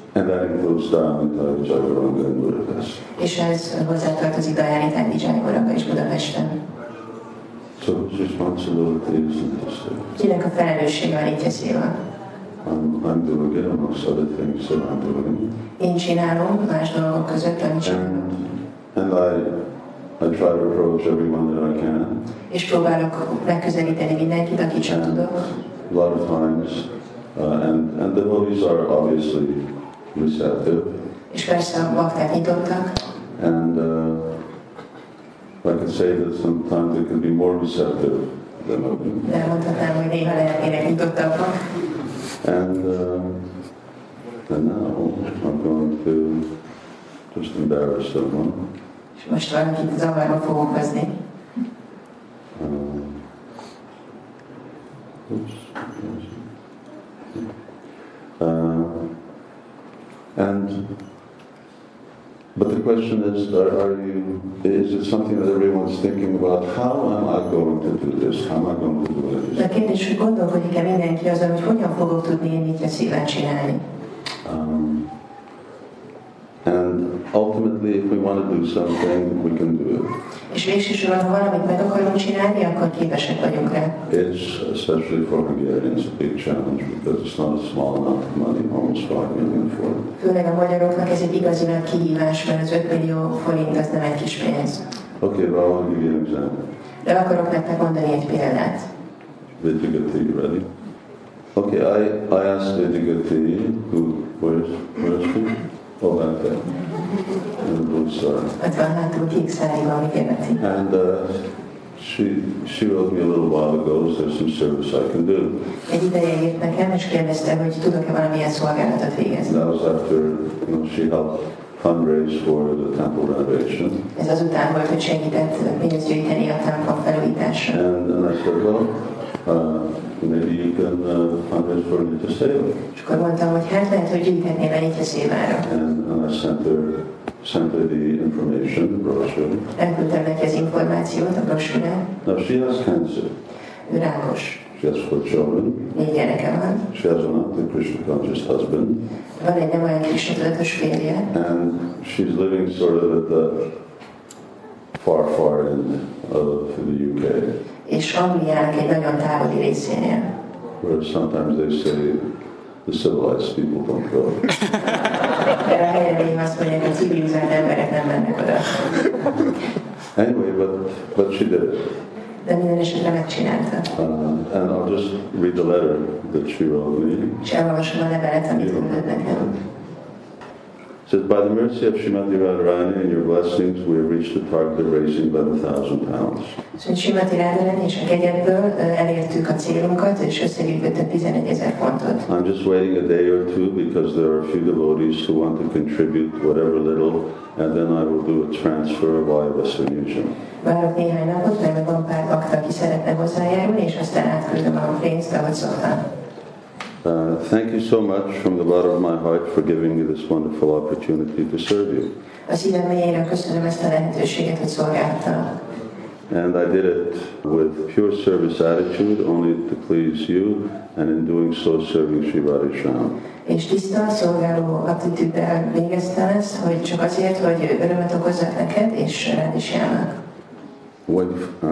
And that includes Dharmata, Jagaranga, and Budapest. És ez hozzátartozik Dajánitány Vijayagaraga és Budapesten. So whose responsibility is in this thing? Kinek a felelőssége a Nityaszéva? I'm, I'm doing it amongst other things that I'm doing. Én csinálom más dolgok között, amit csinálom. And, and I, I try to approach everyone that I can. És próbálok megközelíteni mindenkit, akit csak tudok. A lot of times, uh, and, and the devotees are obviously receptive. És persze a bakták nyitottak. And uh, I could say that sometimes they can be more receptive than others. De mondhatnám, hogy néha lehetnének nyitottabbak. And, uh, and now I'm going to just embarrass someone. És most valakit zavarba fogok hozni. Um, oops. Uh, and but the question is, are, are you? Is it something that everyone's thinking about? How am I going to do this? How am I going to do De a it? kérdés, hogy gondolkodik-e mindenki azon, hogy hogyan fogok tudni én Nityaszévát csinálni? Um, and ultimately, if we want to do something, we can do it. És végsősorban, ha valamit meg akarunk csinálni, akkor képesek vagyunk rá. It's, especially for Hungarians, a big challenge because it's not a small amount of money, almost five million for them. Főleg a magyaroknak ez egy igazi nagy kihívás, mert az öt millió forint az nem egy kis pénz. Okay, but I want to give you an example. De akarok nektek mondani egy példát. Vidyagati, you ready? Okay, I, I asked Vidyagati, who, where's, where's she? Oh, back there. In the blue star. Ott van hátul kék száriban, Vidyagati. And uh, she, she wrote me a little while ago, is there some service I can do? Egy ideje írt nekem, és kérdezte, hogy tudok-e valamilyen szolgálatot végezni. That was after, you know, she helped fundraise for the temple renovation. Ez azután volt, hogy segített pénzt gyűjteni a templom felújításra. And, and I said, well, uh, maybe you can uh, fundraise for Nityaseva. És akkor mondtam, hogy hát lehet, hogy gyűjthetnél a Nityaszévára. And, and I sent her, sent her the information, the brochure. Elküldtem neki az információt, a brosúrát. Now she has cancer. Ő rákos. She has four children. Négy gyereke van. She has an not Krishna conscious husband. Van egy nem olyan Krishna tudatos férje. And she's living sort of at the far, far end of the U K. És Angliának egy nagyon távoli részénél. Where sometimes they say the civilized people don't go. Erre a helyre néha azt mondják, hogy civilizált emberek nem mennek oda. Anyway, but, but she did it. De minden esetre megcsinálta. Uh, and I'll just read the letter that she wrote me. És elolvasom a levelet, amit küldött nekem. It says, by the mercy of Srimati Radharani and your blessings, we have reached the target of raising eleven thousand pounds. Szóval Srimati Radharani és a kegyedből elértük a célunkat, és összegyűjtöttünk tizenegyezer fontot. I'm just waiting a day or two because there are a few devotees who want to contribute whatever little, and then I will do a transfer via Western Union. Várok néhány napot, mert van pár bakta, aki szeretne hozzájárulni, és aztán átküldöm a pénzt, ahogy szoktam. Uh, thank you so much from the bottom of my heart for giving me this wonderful opportunity to serve you. A szívem mélyéről köszönöm ezt a lehetőséget, hogy szolgáltam. And I did it with pure service attitude, only to please you, and in doing so serving Sri Radhisham. És tiszta, szolgáló attitűddel végeztem ezt, hogy csak azért, hogy örömet okozzak neked és Radhishamnak. When, uh,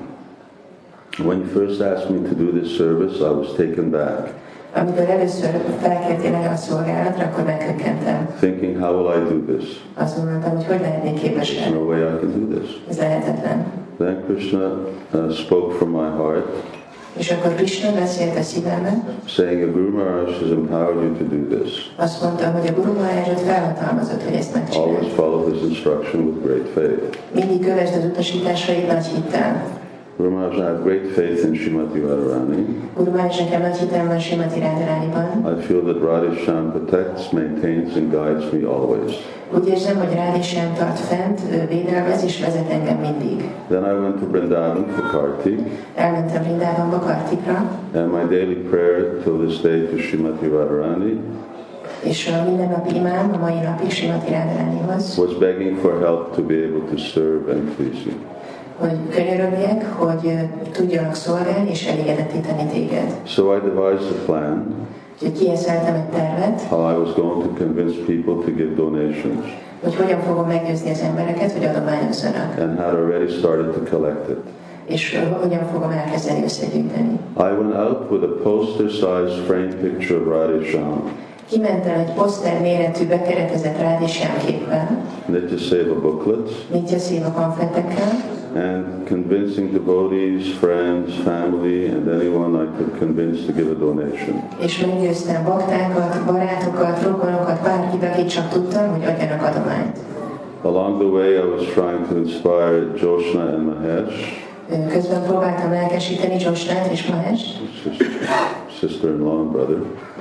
when you first asked me to do this service, I was taken back. Amikor először felkértél erre a szolgálatra, akkor meghökkentem. Thinking, how will I do this? Azt mondtam, hogy hogy lehetnék képes There's erre. no way I can do this. Ez lehetetlen. Then Krishna uh, spoke from my heart, És akkor Krishna beszélt a szívemben, saying that Guru Maharaj has empowered you to do this. azt mondta, hogy a Guru Maharajot felhatalmazott, hogy ezt Always megcsinálj. follow his instruction with great faith. Mindig kövesd az utasításait nagy hittel. Guru Maharaj, I have great faith in Srimati Radharani. Guru Maharaj, nekem nagy hitem van Srimati Radharaniban. I feel that Radhisham protects, maintains, and guides me always. Úgy érzem, hogy Radhisham tart fent, ő védelmez és vezet engem mindig. Then I went to Vrindavan for Kartik, Elmentem Vrindavanba Kartikra, and my daily prayer till this day to Srimati Radharani és a mindennapi imám a mai napig Srimati Radharanihoz, was begging for help to be able to serve and please you. hogy könyörögjek, hogy tudjanak szolgálni és elégedetté tenni téged. So I devised a plan Úgyhogy kieszeltem egy tervet, how I was going to convince people to give donations, hogy hogyan fogom meggyőzni az embereket, hogy adományozzanak, and had already started to collect it. és hogyan fogom elkezdeni összegyűjteni. I went out with a poster-sized framed picture of Radhe Shyam, Kimentem egy poszter méretű bekeretezett Radhe Shyam képpel, Nitya Seva booklets, Nitya Seva pamfletekkel, and convincing devotees, friends, family, and anyone I could convince to give a donation. és meggyőztem baktákat, barátokat, rokonokat, bárkit, akit csak tudtam, hogy adjanak adományt. Along the way, I was trying to inspire Joshna and Mahesh, Közben próbáltam lelkesíteni Joshnát és Mahest, sister-in-law and brother,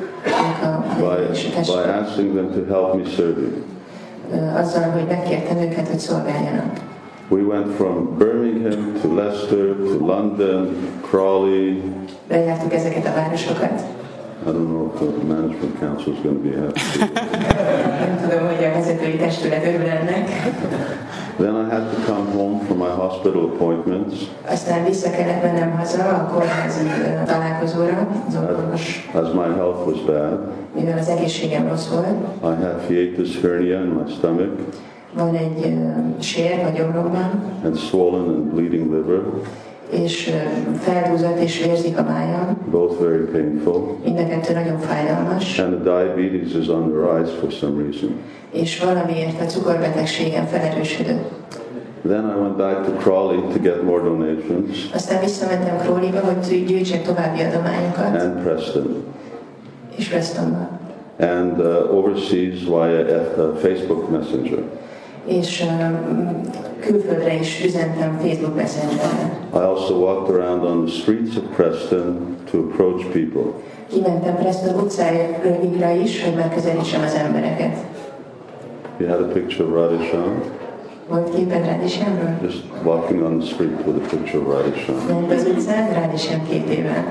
by, by asking them to help me serve you. azzal, hogy megkértem őket, hogy szolgáljanak. We went from Birmingham to Leicester to London, Crawley. Bejártuk ezeket a városokat. I don't know if the management council is going to be happy. Nem tudom, hogy a vezetői testület örül ennek. Then I had to come home from my hospital appointments. Aztán vissza kellett mennem haza a kórházi találkozóra, az orvos, As my health was bad. mivel az egészségem rossz volt. I had hiatus hernia in my stomach. Van egy uh, sér a gyomromban, And swollen and bleeding liver. és uh, feldúzott és vérzik a májam. Both very painful. Mind a kettő nagyon fájdalmas. And the diabetes is on the rise for some reason. És valamiért a cukorbetegségem felerősödött. Then I went back to Crawley to get more donations. Aztán visszamentem Crawleyba, hogy gyűjtsek további adományokat. And Preston. És Prestonba. And uh, overseas via F- uh, Facebook Messenger. És um, külföldre is üzentem Facebook Messengerre. I also walked around on the streets of Preston to approach people. Kimentem Preston utcáira is, hogy megközelítsem az embereket. You had a picture of Radhe Shyam? Volt képed Radhe Shyamról? Just walking on the street with a picture of Radhe Shyam. Ment az utcán Radhe Shyam képével.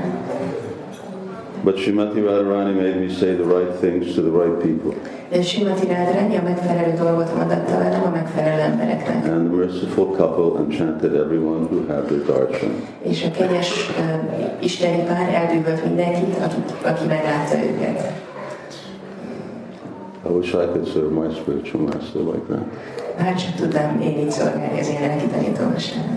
But Srimati Radharani made me say the right things to the right people. De Srimati Radharani a megfelelő dolgot mondatta velem a megfelelő embereknek. And the merciful couple enchanted everyone who had their darshan. És a kegyes uh, isteni pár elbűvölt mindenkit, akit, aki meglátta őket. I wish I could serve my spiritual master like that. Bár csak tudnám én így szolgálni az én lelki tanítómesterem.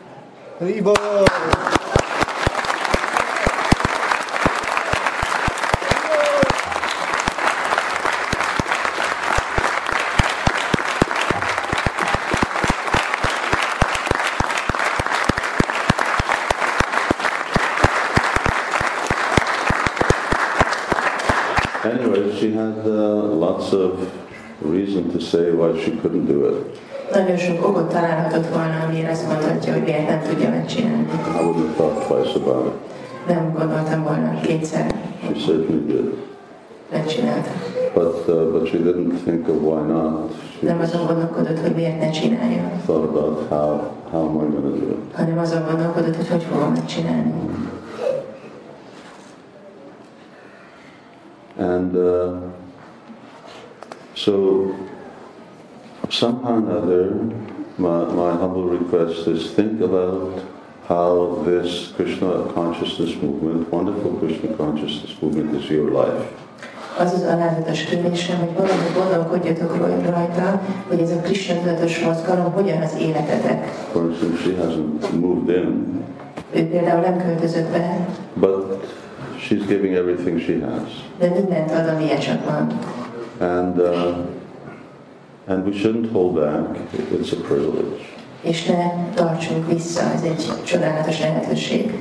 Anyway, she had uh, lots of reason to say why she couldn't do it. Nagyon sok okot találhatott volna, amire azt mondhatja, hogy miért nem tudja megcsinálni. I wouldn't have thought twice about it. Nem gondoltam volna kétszer. She certainly did. Megcsinálta. But, uh, but she didn't think of why not. She Nem azon gondolkodott, hogy miért ne csinálja, thought about how, how am I going to do it. hanem azon gondolkodott, hogy hogy fogom megcsinálni. And uh, so somehow or other, my, my humble request is think about how this Krishna consciousness movement, wonderful Krishna consciousness movement is your life. Az az alázatos kérésem, hogy valahogy gondolkodjatok rajta, hogy ez a Krishna tudatos mozgalom hogyan az életetek. For instance, she hasn't moved in. Ő például nem költözött be, But she's giving everything she has. de mindent ad, amilyen csak van. And, uh, and we shouldn't hold back. It's a privilege. És ne tartsunk vissza, ez egy csodálatos lehetőség.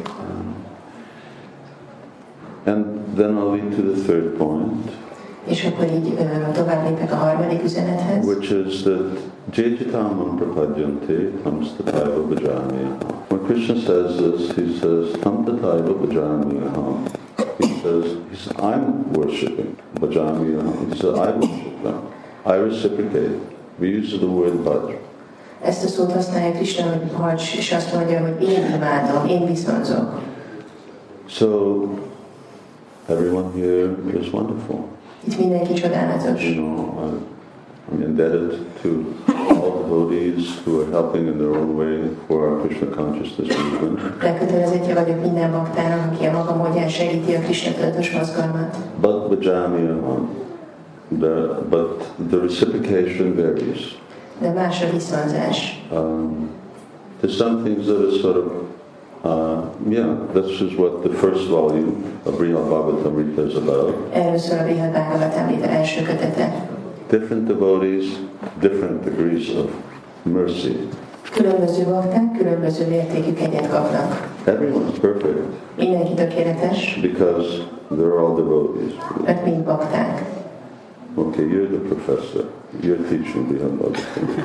And then I'll lead to the third point. És akkor így uh, tovább lépek a harmadik üzenethez. Which is that Jejitamam prapadyanti tamstataiva bhajamiyaham. When Krishna says this, he says tamtataiva bhajamiyaham. He says, he says, I'm worshipping bhajamiyaham. He says, I worship them. I reciprocate. We use the word bhaj. Ezt a szót használja Krishna, hogy hagy, és azt mondja, hogy én imádom, én viszonzok. So everyone here is wonderful. Itt mindenki csodálatos. You know, I'm indebted to all the devotees who are helping in their own way for our Krishna consciousness movement. Elkötelezettje vagyok minden baktának, aki a maga módján segíti a Krishna tudatos mozgalmat. But vajami aham. The, but the reciprocation varies. De más a viszonzás. Um, there's some things that are sort of, uh, yeah, this is what the first volume of Brihad Bhagavatamrita is about. Erről szól a Brihad Bhagavatamrita első kötete. Different devotees, different degrees of mercy. Különböző bakták, különböző mértékű kegyet kapnak. Everyone's perfect. Mindenki tökéletes. Because they're all devotees. Mert mind bakták. Okay, you're the professor. You're teaching Brihad Bhagavatamrita.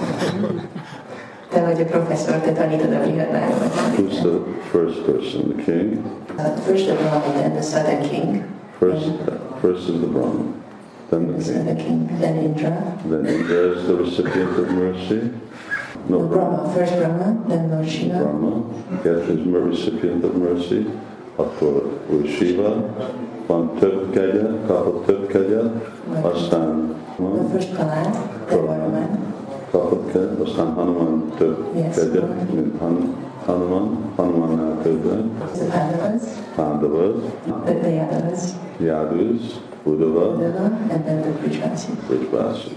Te vagy a professzor, te tanítod a Brihad Bhagavatamrita. Who's the first person? The king? The first the Brahman, then the Southern King. First, first is the Brahman. Then the king. The king, then Indra. Then Indra is the recipient of mercy. No, No, Brahma, first Brahma, then Lord Shiva. Brahma, yes, is the recipient of mercy. Akkor új Shiva, van több kegyet, kapott több kegyet, aztán The first Prahlad, then Hanuman. kapott kegyet, aztán Hanuman több Yes. kegyet, mint Han- Hanuman, Hanumannál többet, The Pandavas, Pándavas, the, the Yadavas, Yadus, Udava, Uddhava, and then the Brijvasis. Brijvasis.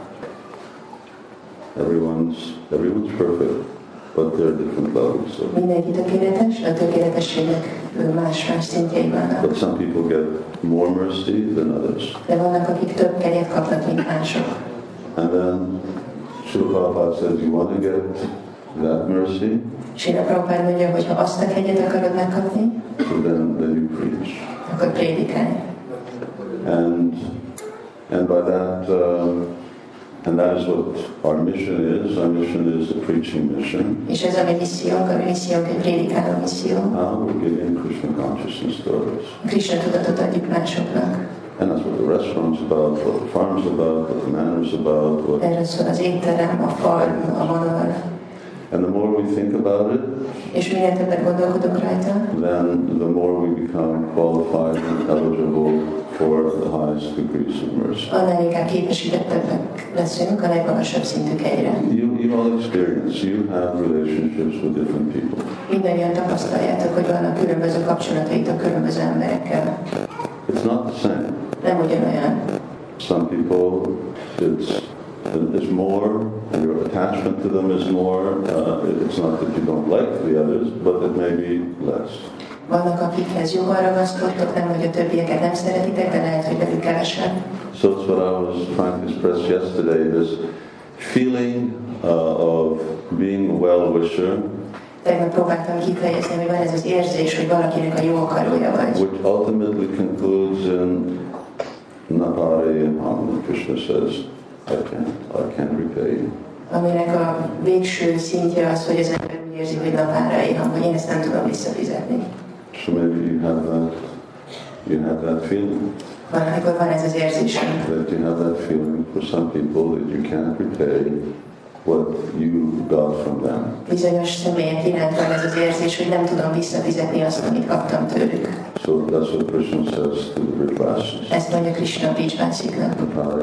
Everyone's, everyone's perfect, but there are different levels. So. Mindenki tökéletes, a tökéletességnek más-más szintjei vannak. But some people get more mercy than others. De vannak, akik több kegyet kapnak, mint mások. And then Srila Prabhupada says, you want to get that mercy? Srila Prabhupada mondja, hogy ha azt a kegyet akarod megkapni, So then, then you preach. akkor prédikálj. And, and by that, um, and that is what our mission is. Our mission is a preaching mission. És ez a mi missziónk, a mi missziónk egy prédikáló misszió. How we're giving Krishna consciousness to others. Krishna tudatot adjuk másoknak. And that's what the restaurant's about, what the farm's about, what the manor's about. What... Erről szól az étterem, a farm, a manor. And the more we think about it, És minél többet gondolkodunk rajta, then the more we become qualified and eligible for the highest degrees of mercy. annál inkább képesítettebbek leszünk a legmagasabb szintű kegyre. You, you all experience, you have relationships with different people. Mindannyian tapasztaljátok, hogy vannak különböző kapcsolataitok különböző emberekkel. It's not the same. Nem ugyanolyan. Some people, it's, it's more, your attachment to them is more. Uh, it's not that you don't like the others, but it may be less. Vannak, akikhez jobban ragaszkodtok, nem, hogy a többieket nem szeretitek, de lehet, hogy velük kevesebb. So it's what I was trying to express yesterday, this feeling uh, of being a well-wisher, Tegnap próbáltam kifejezni, hogy van ez az érzés, hogy valakinek a jó akarója vagy. which ultimately concludes in Napari and Hamna. Krishna says, I can't, I can't repay you. Aminek a végső szintje az, hogy az ember úgy érzi, hogy napárai, hogy én ezt nem tudom visszafizetni. So maybe you have that, you have that feeling. Van, amikor van ez az érzésem, That you have that feeling for some people that you can't repay what you got from them. bizonyos személyek iránt van ez az érzés, hogy nem tudom visszafizetni azt, amit kaptam tőlük. So that's what Krishna says to the Brijvasis. Ezt mondja Krishna a Brijvasiknak.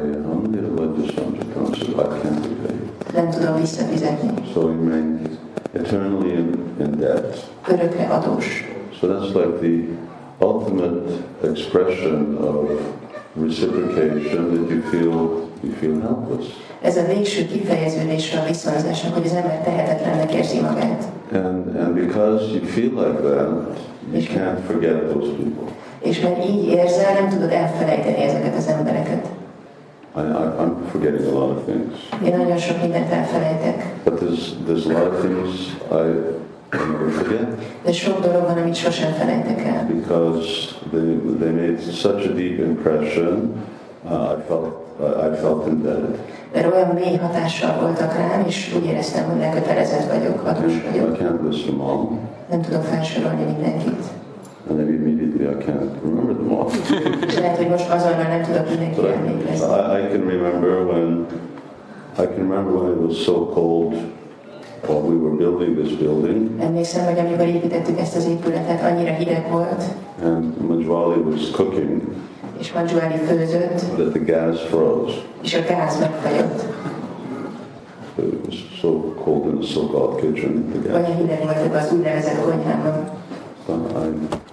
I can't repay you. Nem tudom visszafizetni. So he remains eternally in, in debt. Örökre adós. So that's like the ultimate expression of reciprocation, that you feel you feel helpless. Ez a végső kifejeződése a viszonzásnak, hogy az ember tehetetlennek érzi magát. And, and because you feel like that, you can't forget those people. És mert így érzel, nem tudod elfelejteni ezeket az embereket. I, I, I'm forgetting a lot of things. Én nagyon sok mindent elfelejtek. But there's, there's a lot of things I, I never forget. De sok dolog van, amit sosem felejtek el. Because they, they made such a deep impression, uh, I felt uh, I felt indebted. Mert olyan mély hatással voltak rám, és úgy éreztem, hogy lekötelezett vagyok, adós I vagyok. can't list them all, Nem tudom felsorolni mindenkit. and maybe immediately I can't remember them all. És lehet, hogy most azonnal nem tudok But mindenkire I, emlékezni. I, I can remember when I can remember when it was so cold while we were building this building, Emlékszem, hogy amikor építettük ezt az épületet, annyira hideg volt, and Manjwali was cooking, és Manjwari főzött, that the gas froze. és a gáz megfagyott. It was so cold in the so-called kitchen. The gas. Olyan hideg volt az úgynevezett konyhában. So I,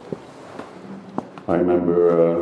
I remember,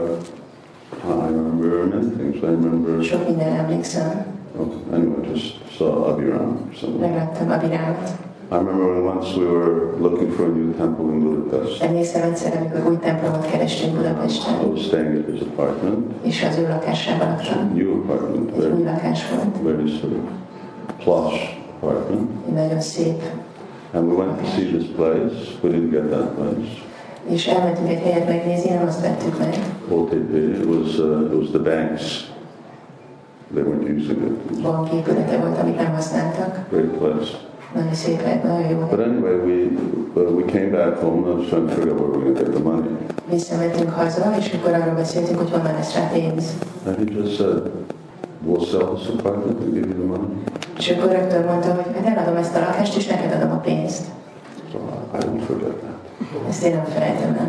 uh, I remember many things. I remember. Sok minden emlékszem. Oh, anyway, just saw Abhiram or something. Megláttam Abhiramot. I remember when once we were looking for a new temple in Budapest. Emlékszem egyszer, amikor új templomot kerestünk Budapesten. I was staying at his apartment. És az ő lakásában laktam. New apartment. Egy Very, új lakás volt. very sort of plush apartment. Egy nagyon szép. And we went to see this place. We didn't get that place. És elmentünk egy helyet megnézni, nem azt vettük meg. O T P. It was uh, it was the banks. They weren't using it. Banki épülete volt, amit nem használtak. Great place. Nagyon szép lett, nagyon jó. But anyway, we uh, we came back home. I was trying to figure out where we were going to get the money. Visszamentünk haza, és akkor arról beszéltünk, hogy honnan lesz rá pénz. And he just said, "We'll sell this apartment and give you the money." És akkor rögtön mondta, hogy hát eladom ezt a lakást, és neked adom a pénzt. So I don't forget that. Ezt én nem felejtem el.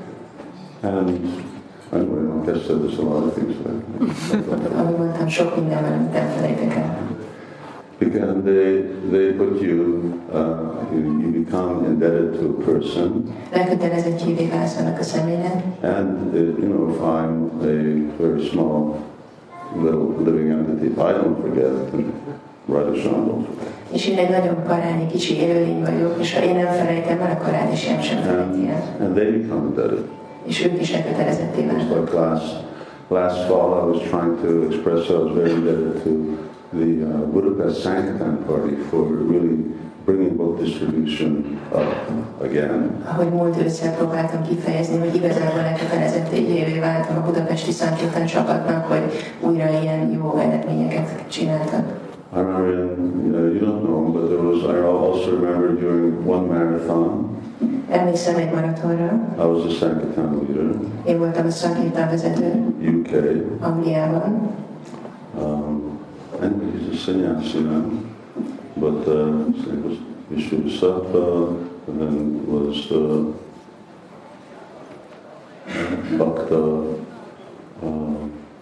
And anyway, like I said, there's a lot of things there. Ahogy mondtam, sok minden van, amit nem felejtek el. Because they they put you, uh, you, you become indebted to a person. Elkötelezettjévé válsz annak a személynek. And uh, you know, if I'm a very small little living entity, if I don't forget, then Radhashyam don't forget. És én egy nagyon parányi, kicsi élőlény vagyok, és ha én nem felejtem el, akkor Radhashyam sem felejti el. And, and they become indebted. És ők is elkötelezetté It's válnak. like last, last fall I was trying to express I was very indebted to the uh, Budapest Sankirtan Party for really bringing book distribution up again. Ahogy múlt ősszel próbáltam kifejezni, hogy igazából elkötelezettévé váltam a budapesti Sankirtan csapatnak, hogy újra ilyen jó eredményeket csináltak. I remember, in, uh, you don't know, but there was, I also remember during one marathon, Emlékszem egy maratonra. I was a Sankirtan leader, Én voltam a Sankirtan vezető U K, Angliában. um, and he's a sannyasi now, but uh, his name was Vishnusattva, and then was uh, Bhakta, uh,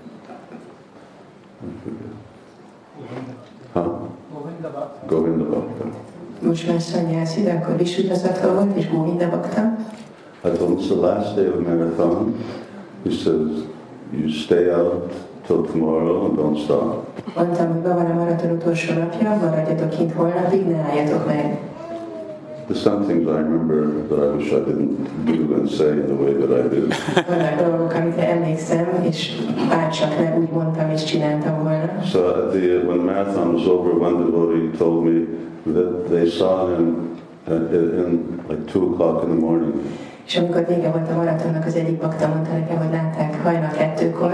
I forget. Huh? Govinda Bhakta. Most már szanyászi, de akkor Vishnusattva volt, és Govinda Bhakta. I told him it's the last day of the marathon. He says, you stay out till tomorrow and don't stop. Mondtam, hogy van a maraton utolsó napja, maradjatok kint holnapig, ne álljatok meg. There's some things I remember that I wish I didn't do and say in the way that I did. Vannak dolgok, amikre emlékszem, és bárcsak nem úgy mondtam és csináltam volna. So at the, when the marathon was over, one devotee told me that they saw him uh, in like two o'clock in the morning. És amikor vége volt a maratonnak, az egyik bakta mondta nekem, hogy látták hajnal kettőkor.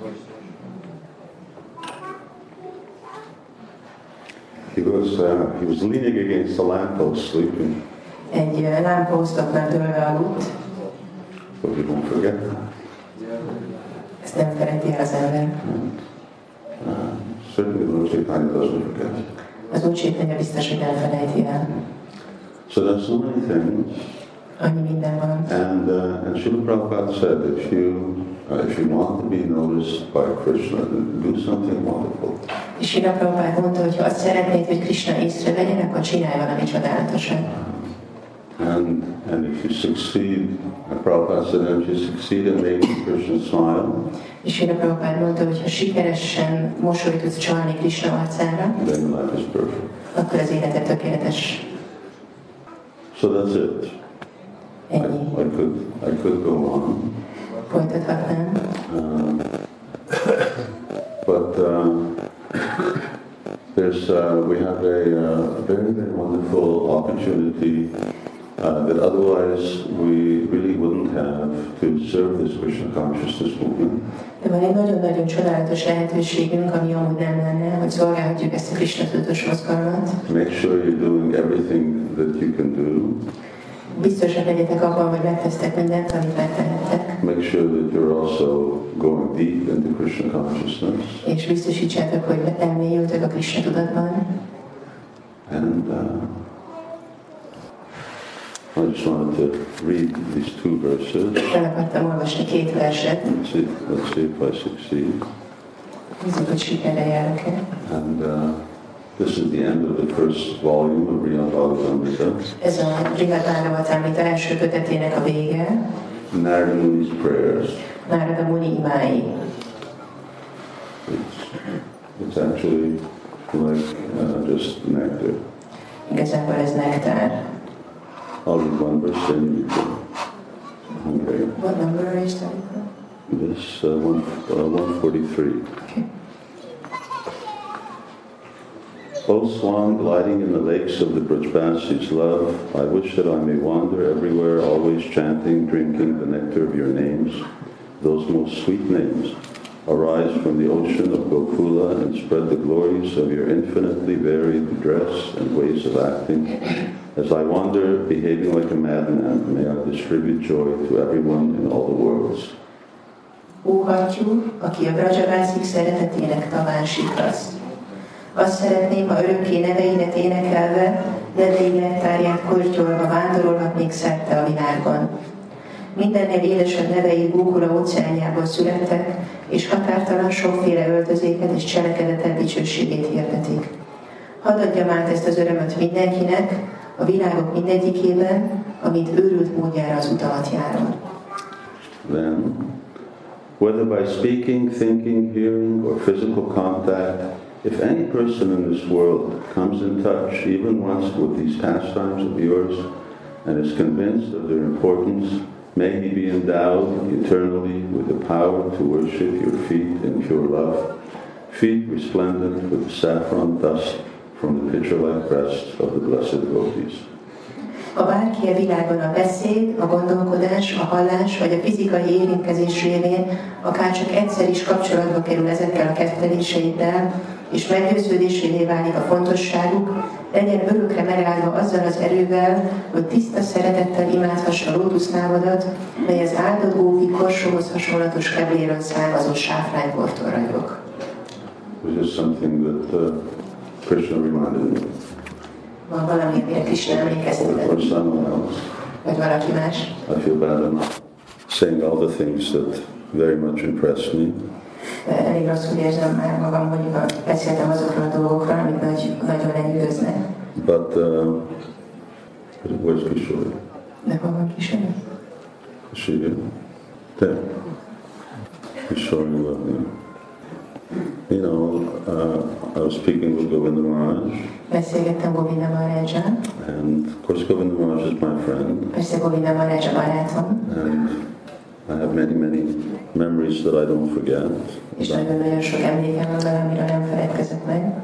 He was uh, he was leaning against the lamppost, sleeping. Egy uh, lámpóztoknál dőlve aludt. But we don't forget that. Ezt nem felejti el az ember. Uh, certainly, Lord Chaitanya doesn't forget. Az Úr Chaitanya biztos, hogy nem felejti el. So there's so many things. Annyi minden van. And uh, and Srila Prabhupada said, if you uh, if you want to be noticed by Krishna, then do something wonderful. És Srila Prabhupada mondta, hogy ha azt szeretnéd, hogy Krishna észrevegyen, akkor csinálj valami csodálatosat. And and if you succeed, uh, Prabhupada said, if you succeed in making Krishna smile, És Srila Prabhupada mondta, hogy ha sikeresen mosolyt tudsz csalni Krishna arcára, then your life is perfect. akkor az életed tökéletes. So that's it. I, Ennyi. I could I could go on. Folytathatnám. Um, but um, there's uh, we have a uh, very very wonderful opportunity uh, that otherwise we really wouldn't have to serve this Krishna consciousness movement. De van egy nagyon-nagyon csodálatos lehetőségünk, ami amúgy nem lenne, hogy szolgálhatjuk ezt a Krishna tudatos mozgalmat. Make sure you're doing everything that you can do. Biztosak legyetek abban, hogy megtesztek mindent, amit megtehettek. Make sure that you're also going deep into Krishna consciousness. És biztosítsátok, hogy elmélyültök a Krishna tudatban. And uh, I just wanted to read these two verses. El akartam olvasni két verset. Let's see, let's see if I succeed. Nézzük, hogy sikerre járok-e. And uh, This is the end of the first volume of Brihad Bhagavatamrita. Ez a Brihad Bhagavatamrita első kötetének a vége. Narada Muni's prayers. Narada Muni imái. It's, it's actually like uh, just nectar. Igazából ez nektár. I'll read one verse and you can. Okay. What number are you studying from? This uh, one, uh, one forty-three. Okay. O swan gliding in the lakes of the Brajbasi's love, I wish that I may wander everywhere, always chanting, drinking the nectar of your names. Those most sweet names arise from the ocean of Gokula and spread the glories of your infinitely varied dress and ways of acting. As I wander, behaving like a madman, may I distribute joy to everyone in all the worlds. Ó hattyú, aki a Brajabászik szeretetének taván siklasz. Azt szeretném, ha örökké neveidet énekelve, nedvei nektárját kortyolva vándorolhatnék szerte a világon. Mindennél édesebb nevei Gókula óceánjából születtek, és határtalan sokféle öltözéket és cselekedetet dicsőségét hirdetik. Hadd adjam át ezt az örömöt mindenkinek, a világok mindegyikében, amint őrült módjára az utamat járom. Then, whether by speaking, thinking, hearing, or physical contact, if any person in this world comes in touch even once with these pastimes of yours and is convinced of their importance, may he be endowed eternally with the power to worship your feet in pure love, feet resplendent with the saffron dust from the pitcher-like breasts of the blessed devotees. Ha bárki a világon a beszéd, a gondolkodás, a hallás vagy a fizikai érintkezés révén akárcsak egyszer is kapcsolatba kerül ezekkel a ketteléseiddel, és meggyőződésévé válik a fontosságuk, legyen örökre megáldva azzal az erővel, hogy tiszta szeretettel imádhassa a lótuszlábadat, mely az áldott gópi korsóhoz hasonlatos kebléről származó sáfránybortól ragyog. This is something that uh, Krishna reminded me. Van valami, amire Krishna emlékeztetett. Or someone else. Vagy valaki más. I feel bad I'm not saying all the things that very much impressed me. De elég rosszul érzem már magam, hogy beszéltem azokról a dolgokról, amik nagy, nagyon lenyűgöznek. But uh, where's Kishore? De hol van Kishore? Is she here? There. Kishore, love me. You know, uh, I was speaking with Govinda Maharaj. Beszélgettem Govinda Maharajjal. And of course Govinda Maharaj is my friend. Persze Govinda Maharaj a barátom. And I have many, many memories that I don't forget. És nagyon-nagyon sok emlékem van vele, amiről nem feledkezek meg.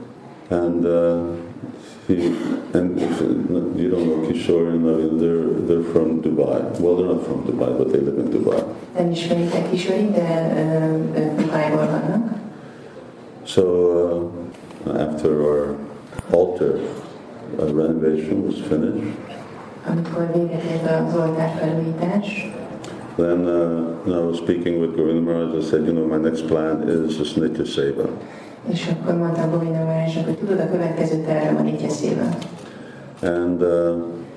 And uh, he, and if, you don't know Kishore and Navin, they're, they're from Dubai. Well, they're not from Dubai, but they live in Dubai. Nem ismeritek Kishore, de ők Dubájból vannak. So uh, after our altar uh, renovation was finished, amikor véget ért az oltár felújítás, then uh, when I was speaking with Govinda Maharaj, I said, you know, my next plan is this Nitya Seva. És akkor mondtam Govinda Maharajnak, hogy tudod, a következő terve van Nitya Seva. And uh,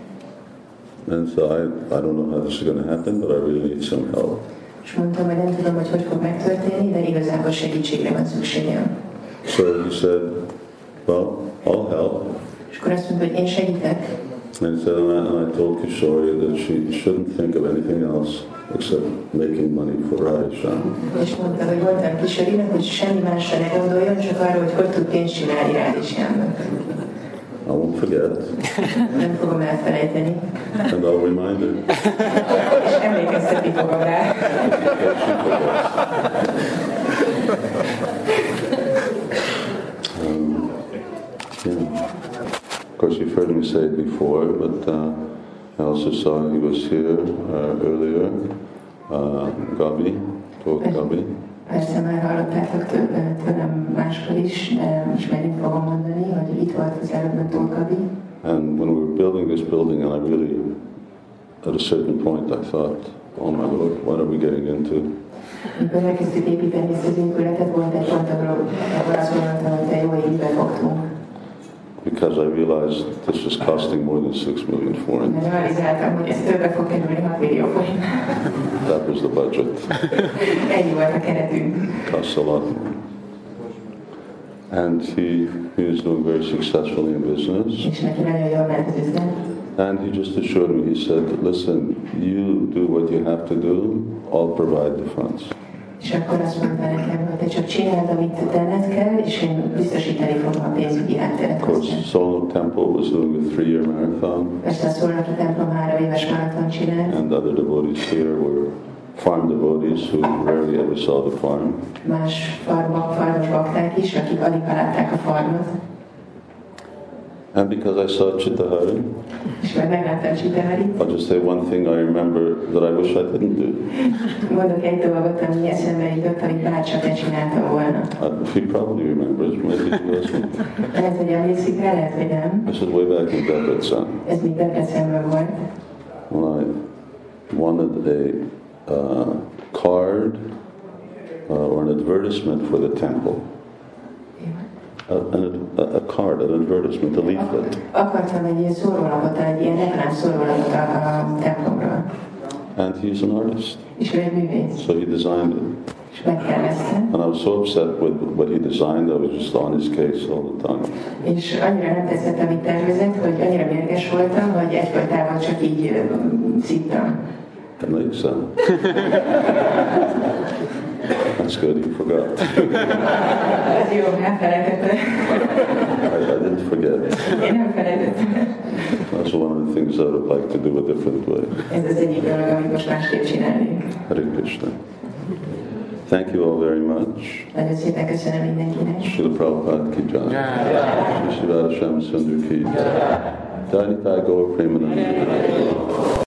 and so I I don't know how this is going to happen, but I really need some help. És mondtam, hogy nem tudom, hogy hogy fog megtörténni, de igazából segítségre van szükségem. So he said, well, I'll help. És akkor azt mondta, hogy én segítek. And he said, and I, and I told Kishore that she shouldn't think of anything else except making money for Radhishyam. És mondta, hogy mondtam Kishore-nak, hogy semmi másra ne gondoljon, csak arra, hogy hogy tud pénzt csinálni Radhishyamnak. I won't forget. Nem fogom elfelejteni. And I'll remind her. És emlékeztetni fogom rá. um, yeah. Of course, you've heard me say it before, but uh, I also saw he was here uh, earlier. Uh, Gabi, told Gabi. Persze már hallottátok tőlem máskor is, de ismerni fogom mondani, hogy itt volt az előbb Tóth Gabi. And when we were building this building, and I really, at a certain point, I thought, oh my Lord, what are we getting into? Amikor elkezdtük építeni ezt az épületet, volt egy pont, ahol azt mondtam, hogy te jó évbe fogtunk. Because I realized this is costing more than six million foreign. Mert realizáltam, hogy ez többe fog kerülni hat millió forint. That was the budget. Ennyi volt a keretünk. Costs a lot. And he, he was doing very successfully in business. És neki nagyon jól ment az üzlet. And he just assured me, he said, listen, you do what you have to do, I'll provide the funds. És akkor azt mondta nekem, hogy te csak csináld, amit tenned kell, és én biztosítani fogom a pénzügyi hátteret. Of course, Solno Temple was doing a three-year marathon. Persze a Szolnoki templom három éves maraton csinált. And other devotees here were farm devotees who rarely ever saw the farm. Más farmok, farmos bakták is, akik alig látták a farmot. And because I saw Chittahari, És meg megláttam Chittaharit. I'll just say one thing I remember that I wish I didn't do. Mondok egy dolgot, ami eszembe jutott, amit bárcsak ne csináltam volna. Uh, he probably remembers, maybe he doesn't. Lehet, hogy emlékszik rá, lehet, hogy nem. This is way back in Debrecen. Ez még Debrecenben volt. When I wanted a uh, card uh, or an advertisement for the temple. A, a, a card, an advertisement, a leaflet. Akartam egy ilyen szórólapot, egy ilyen reklám szórólapot a, a templomról. And he's an artist. És ő egy művész. So he designed it. És megtervezte. And I was so upset with what he designed, I was just on his case all the time. És annyira nem tetszett, amit tervezett, hogy annyira mérges voltam, hogy egyfolytában csak így uh, szittam. That makes sense. That's good, you forgot. Ez jó, elfelejtettem. I, I didn't forget. Én nem felejtettem. That's one of the things I would like to do a different way. Ez az egyik dolog, amit most másképp csinálnék. Hare Krishna. Thank you all very much. Nagyon szépen köszönöm mindenkinek. Srila Prabhupada ki jai. Sri Radha Shyama Sundar ki jai. Jai Nitai Gaur Premanand.